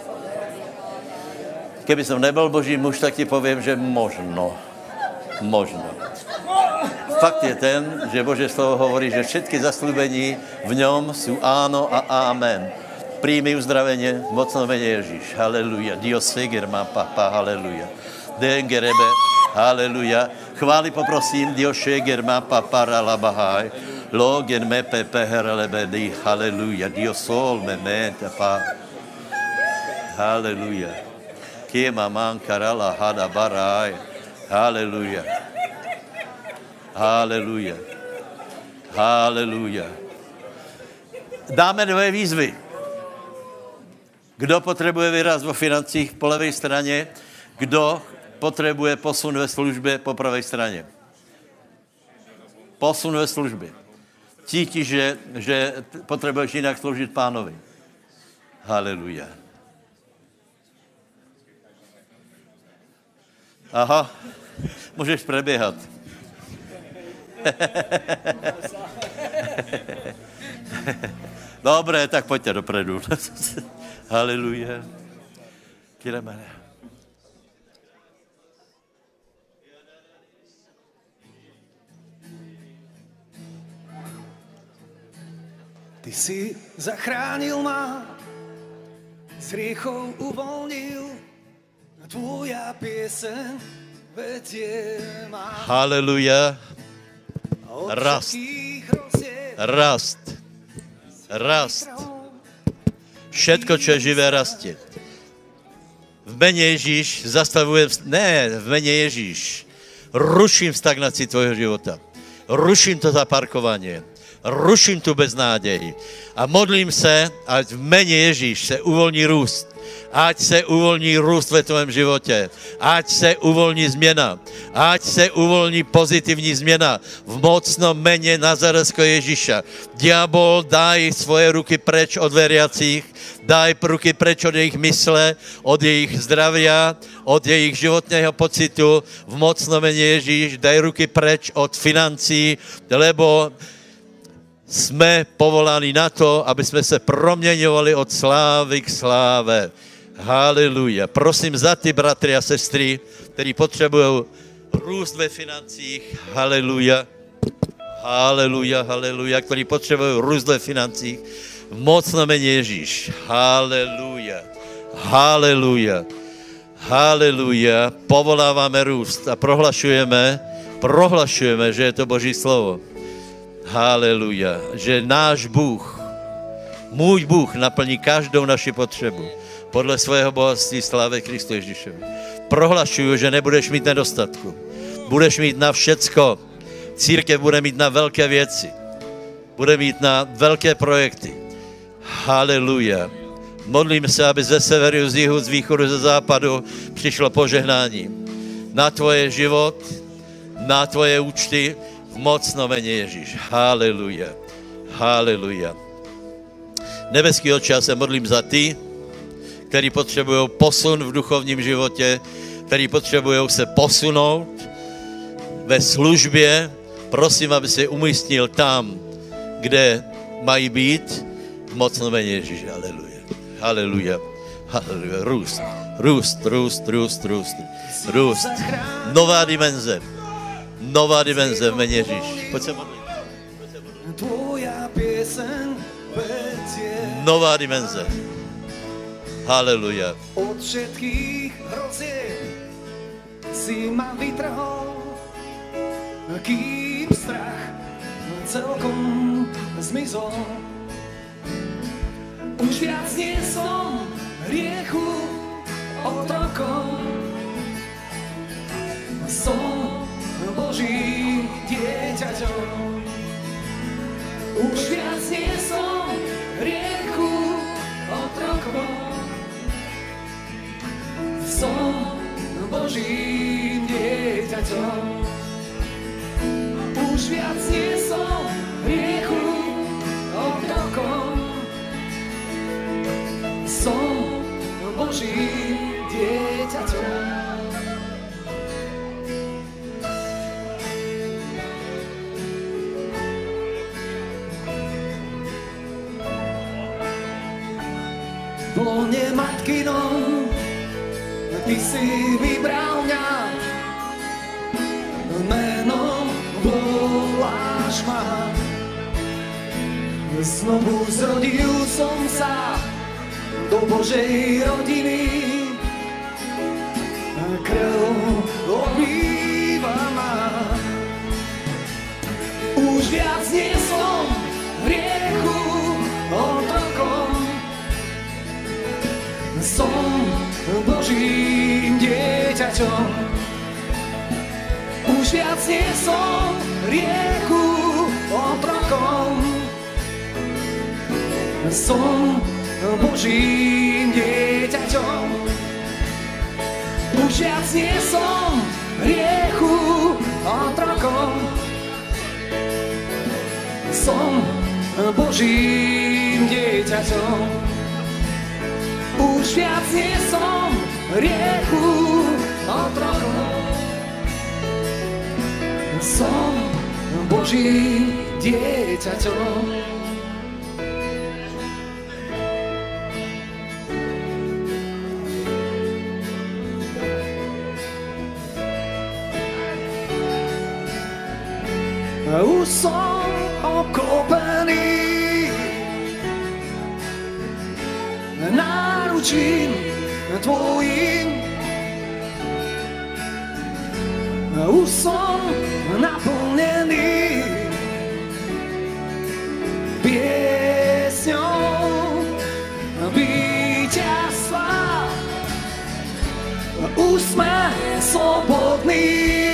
Keby som nebol Boží muž, tak ti poviem, že možno. Možno. Fakt je ten, že Božie slovo hovorí, že všetky zasľúbení v ňom sú áno a amen. Príjmi uzdravenie, mocno mene Ježíš. Haleluja. Dios seger má papa. Haleluja. Dengerebe. Haleluja. Chváli poprosím. Dios seger má papa. Ralabahaj. Logen me pepe herelebedi. Haleluja. Dios sol me mente pa. Haleluja. Kema man karala hada baraj. Haleluja. Haleluja. Haleluja. Dáme dve výzvy. Kdo potrebuje vyraz vo financích po levej strane, kdo potrebuje posun ve službe po pravej strane. Posun ve službe. Cítiš, že, že potrebuješ inak slúžiť Pánovi. Haleluja. Aha, môžeš prebiehať. Dobre, tak poďte dopredu. Haleluja. Kiremane. Ty si zachránil ma, z hriechov uvoľnil, a tvoja pieseň vedie ma. Haleluja. Rast. Rast. Rast. Všetko, čo je živé, rastie. V mene Ježíš zastavujem, ne, v mene Ježíš ruším stagnácii tvojho života. Ruším to zaparkovanie. Ruším tu beznádej. A modlím se, ať v mene Ježíš se uvolní růst. Ať se uvolní růst ve tvém životě. Ať se uvolní změna. Ať se uvolní pozitivní změna. V mocnom mene Nazareckého Ježíša. Diabol, daj svoje ruky preč od veriacích. Daj ruky preč od jejich mysle, od jejich zdravia, od jejich životného pocitu. V mocnom mene Ježíš, daj ruky preč od financí, lebo jsme povolaní na to, aby jsme se proměňovali od slávy k sláve. Haleluja. Prosím za ty bratry a sestry, kteří potřebují růst ve financích. Haleluja. Haleluja, haleluja. Kteří potřebují růst ve financích. V mocnom mene Ježíš. Haleluja. Haleluja. Haleluja. Povoláváme růst a prohlašujeme, prohlašujeme, že je to Boží slovo. Haleluja. Že náš Bůh, můj Bůh naplní každou naši potřebu podle svého bohatství slávy Kristu Ježíšovi. Prohlašuju, že nebudeš mít nedostatku. Budeš mít na všecko. Církev bude mít na velké věci. Bude mít na velké projekty. Haleluja. Modlím se, aby ze severu, z jihu, z východu, ze západu přišlo požehnání. Na tvoje život, na tvoje účty, v mocno jméně Ježíš. Haleluja. Haleluja. Nebeský Otče, já se modlím za ty, kteří potřebují posun v duchovním životě, kteří potřebují se posunout ve službě. Prosím, aby se umístil tam, kde mají být, v mocno jméně Ježíš. Haleluja. Haleluja. Haleluja. Růst. Růst, růst, růst, růst. Růst. Nová dimenze. Nová dimenze v jméně Ježíš. Pojď se modlit. Nová dimenze. Haleluja. Od všetkých hrozieb si ma vytrhol, kým strach celkom zmizol. Už viac nie som hriechu otrokom. Som Božím dieťaťom. Už viac nie som hriechu otrokom. Som Božím dieťaťom. Už viac nie som hriechu otrokom. Som Božím dieťaťom. V lone matkinom ty si vybral mňa, menom voláš ma. Znovu zrodil som sa do Božej rodiny, krv obýva ma. Už viac nie som hriechu otrokom. Som Božím dieťaťom. Už viac nie som hriechu otrokom. Som Božím dieťaťom. Už viac nie som hriechu otrokom. Som Božím dieťaťom. Už viac nie som hriechu otrokom. Som Božím dieťaťom. Už som okopený náručím tvojím. Už som naplnený piesňou víťazstva. Už sme slobodní.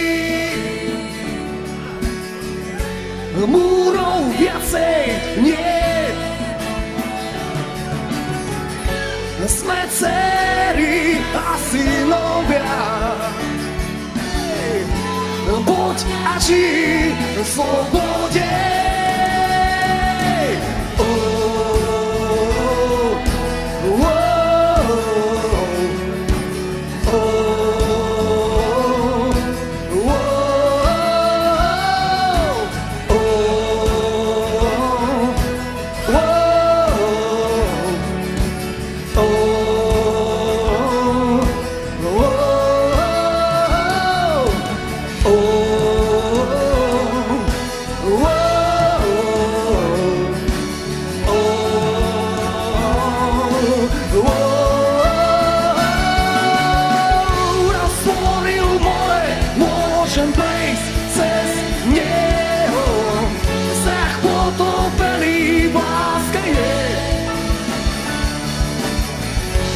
Múrov viacej nie. Sme dcery a synovia. Poď a žij v slobode.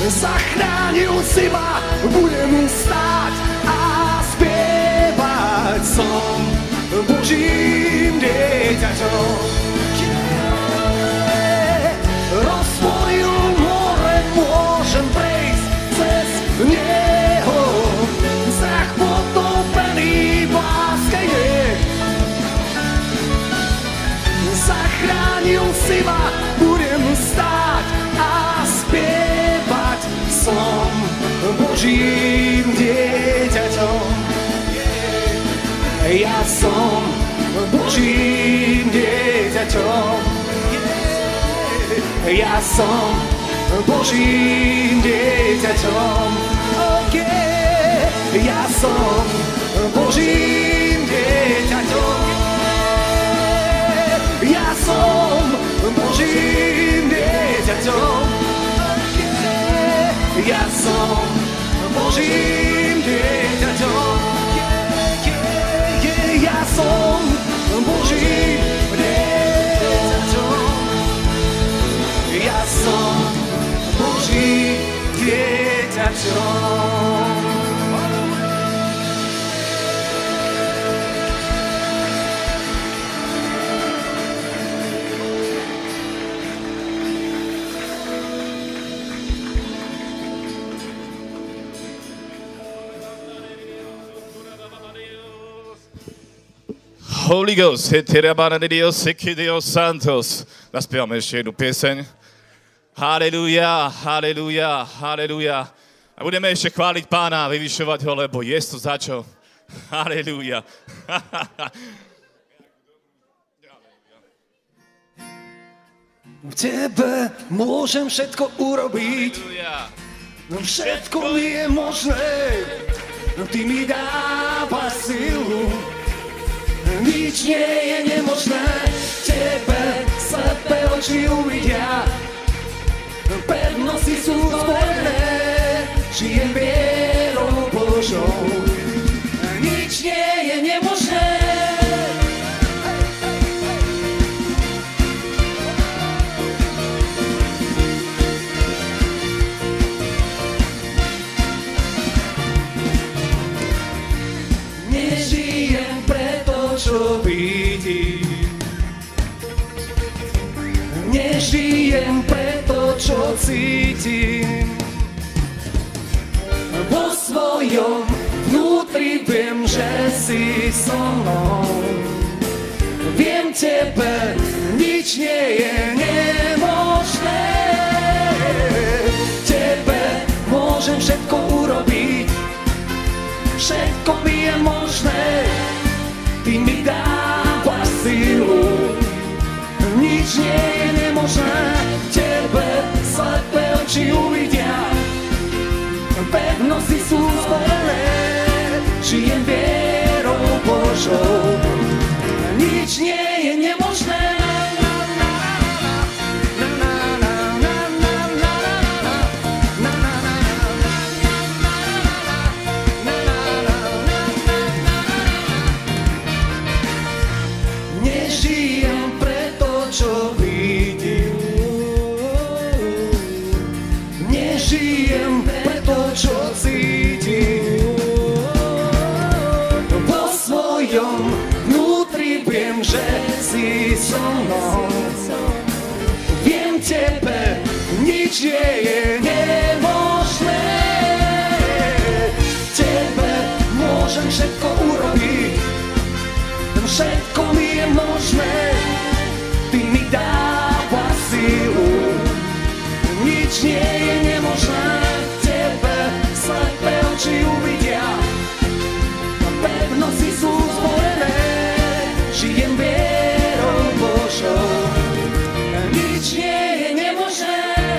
Zachránil si ma, budem stáť a spievať. Božím dieťaťom. Ja som Božím dieťaťom. Ja som Božím dieťaťom. Okay. Ja som Božím dieťaťom. Ja som Božím dieťaťom. Ja som Božím dieťaťom. Ja som Božím dieťaťom. Ja som Božím dieťaťom. Holy Ghost, Heterabana de Dios, Seki Dios Santos. Naspievame ešte jednu pieseň. Halelúja, halelúja, halelúja. A budeme ešte chváliť Pána a vyvyšovať ho, lebo je to za čo. Halelúja. V Tebe môžem všetko urobiť. Všetko mi je možné. Ty mi dávaš silu. Nič nie je nemožné, Tebe slepé oči uvidia. Pevnosti sú spojené, žijem vierou Božou. Nič nie je nemožné. Nežijem preto, čo vidím. Nežijem preto, čo cítim. Vo svojom vnútri viem, že si so mnou. Viem, Tebe nič nie je nemožné. Tebe môžem všetko urobiť. Všetko mi je možné. Ty mi dávaš silu. Nič nie je nemožné, Tebe slepé oči uvidia. Pevnosti sú spojené, žijem vierou Božou. Nič nie je nemožné. Nežijem preto, čo vidím. Nežijem preto, čo cítim. Vo svojom vnútri viem, že si so mnou. Viem, Tebe nič nie je nemožné. Tebe môžem všetko urobiť. Všetko mi je možné. Ty mi dávaš silu. Nič nie je nemožné. Tebe slepé oči uvidia. Pevnosti sú spojené. Žijem vierou Božou. Nič nie je nemožné.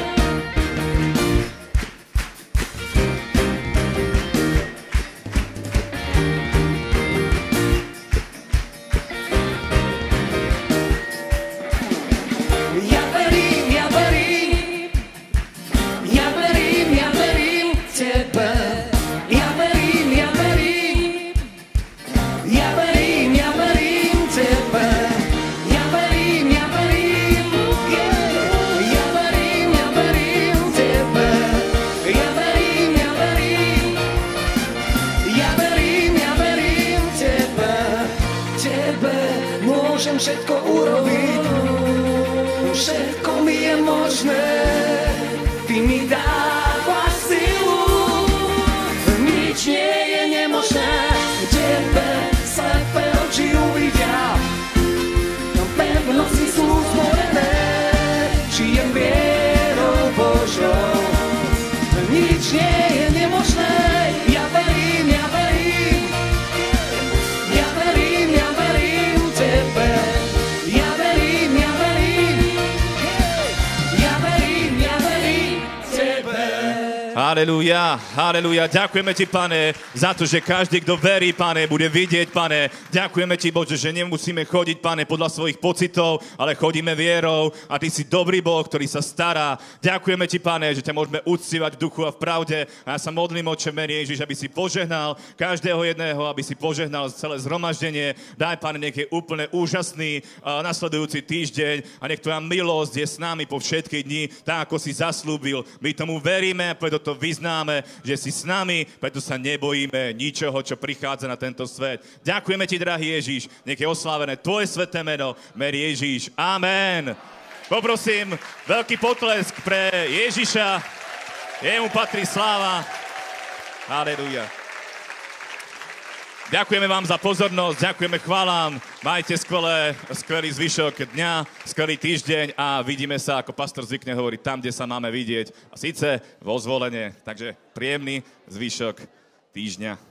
Ja verím, ja verím. Ja verím, ja verím Tebe. Ja verím, ja verím. Ja verím, ja verím Tebe. Ja verím, ja verím. Ja verím, ja verím Tebe. Ja verím, ja verím. Ja verím, ja verím Tebe. Tebe môžem všetko urobiť. Všetko mi je možné. Ty mi dávaš silu. Nič nie je nemožné. Tebe slepé oči uvidia. Pevnosti sú spojené. Žijem vierou Božou. Nič nie je nemožné. Halelúja, halelúja. Ďakujeme ti, Pane, za to, že každý, kto verí, Pane, bude vidieť, Pane. Ďakujeme ti, Bože, že nemusíme chodiť, Pane, podľa svojich pocitov, ale chodíme vierou a ty si dobrý Boh, ktorý sa stará. Ďakujeme ti, Pane, že ťa môžeme uctievať v duchu a v pravde. A ja sa modlím, Otče, mene Ježiš, aby si požehnal každého jedného, aby si požehnal celé zhromaždenie. Daj, Pane, nech je úplne úžasný uh, nasledujúci týždeň a nech tvoja milosť je s nami po všetky dni, tak ako si zaslúbil. My tomu veríme a preto to vyznáme, že si s nami, preto sa nebojíme ničoho, čo prichádza na tento svet. Ďakujeme ti, drahý Ježiš, nech je oslávené tvoje sveté meno, mene Ježiš. Amen. Poprosím, veľký potlesk pre Ježiša. Jemu patrí sláva. Halelúja. Ďakujeme vám za pozornosť, ďakujeme, chválam. Majte skvelé, skvelý zvyšok dňa, skvelý týždeň a vidíme sa, ako pastor zvykne hovoriť, tam, kde sa máme vidieť. A síce vo Zvolenie. Takže príjemný zvyšok týždňa.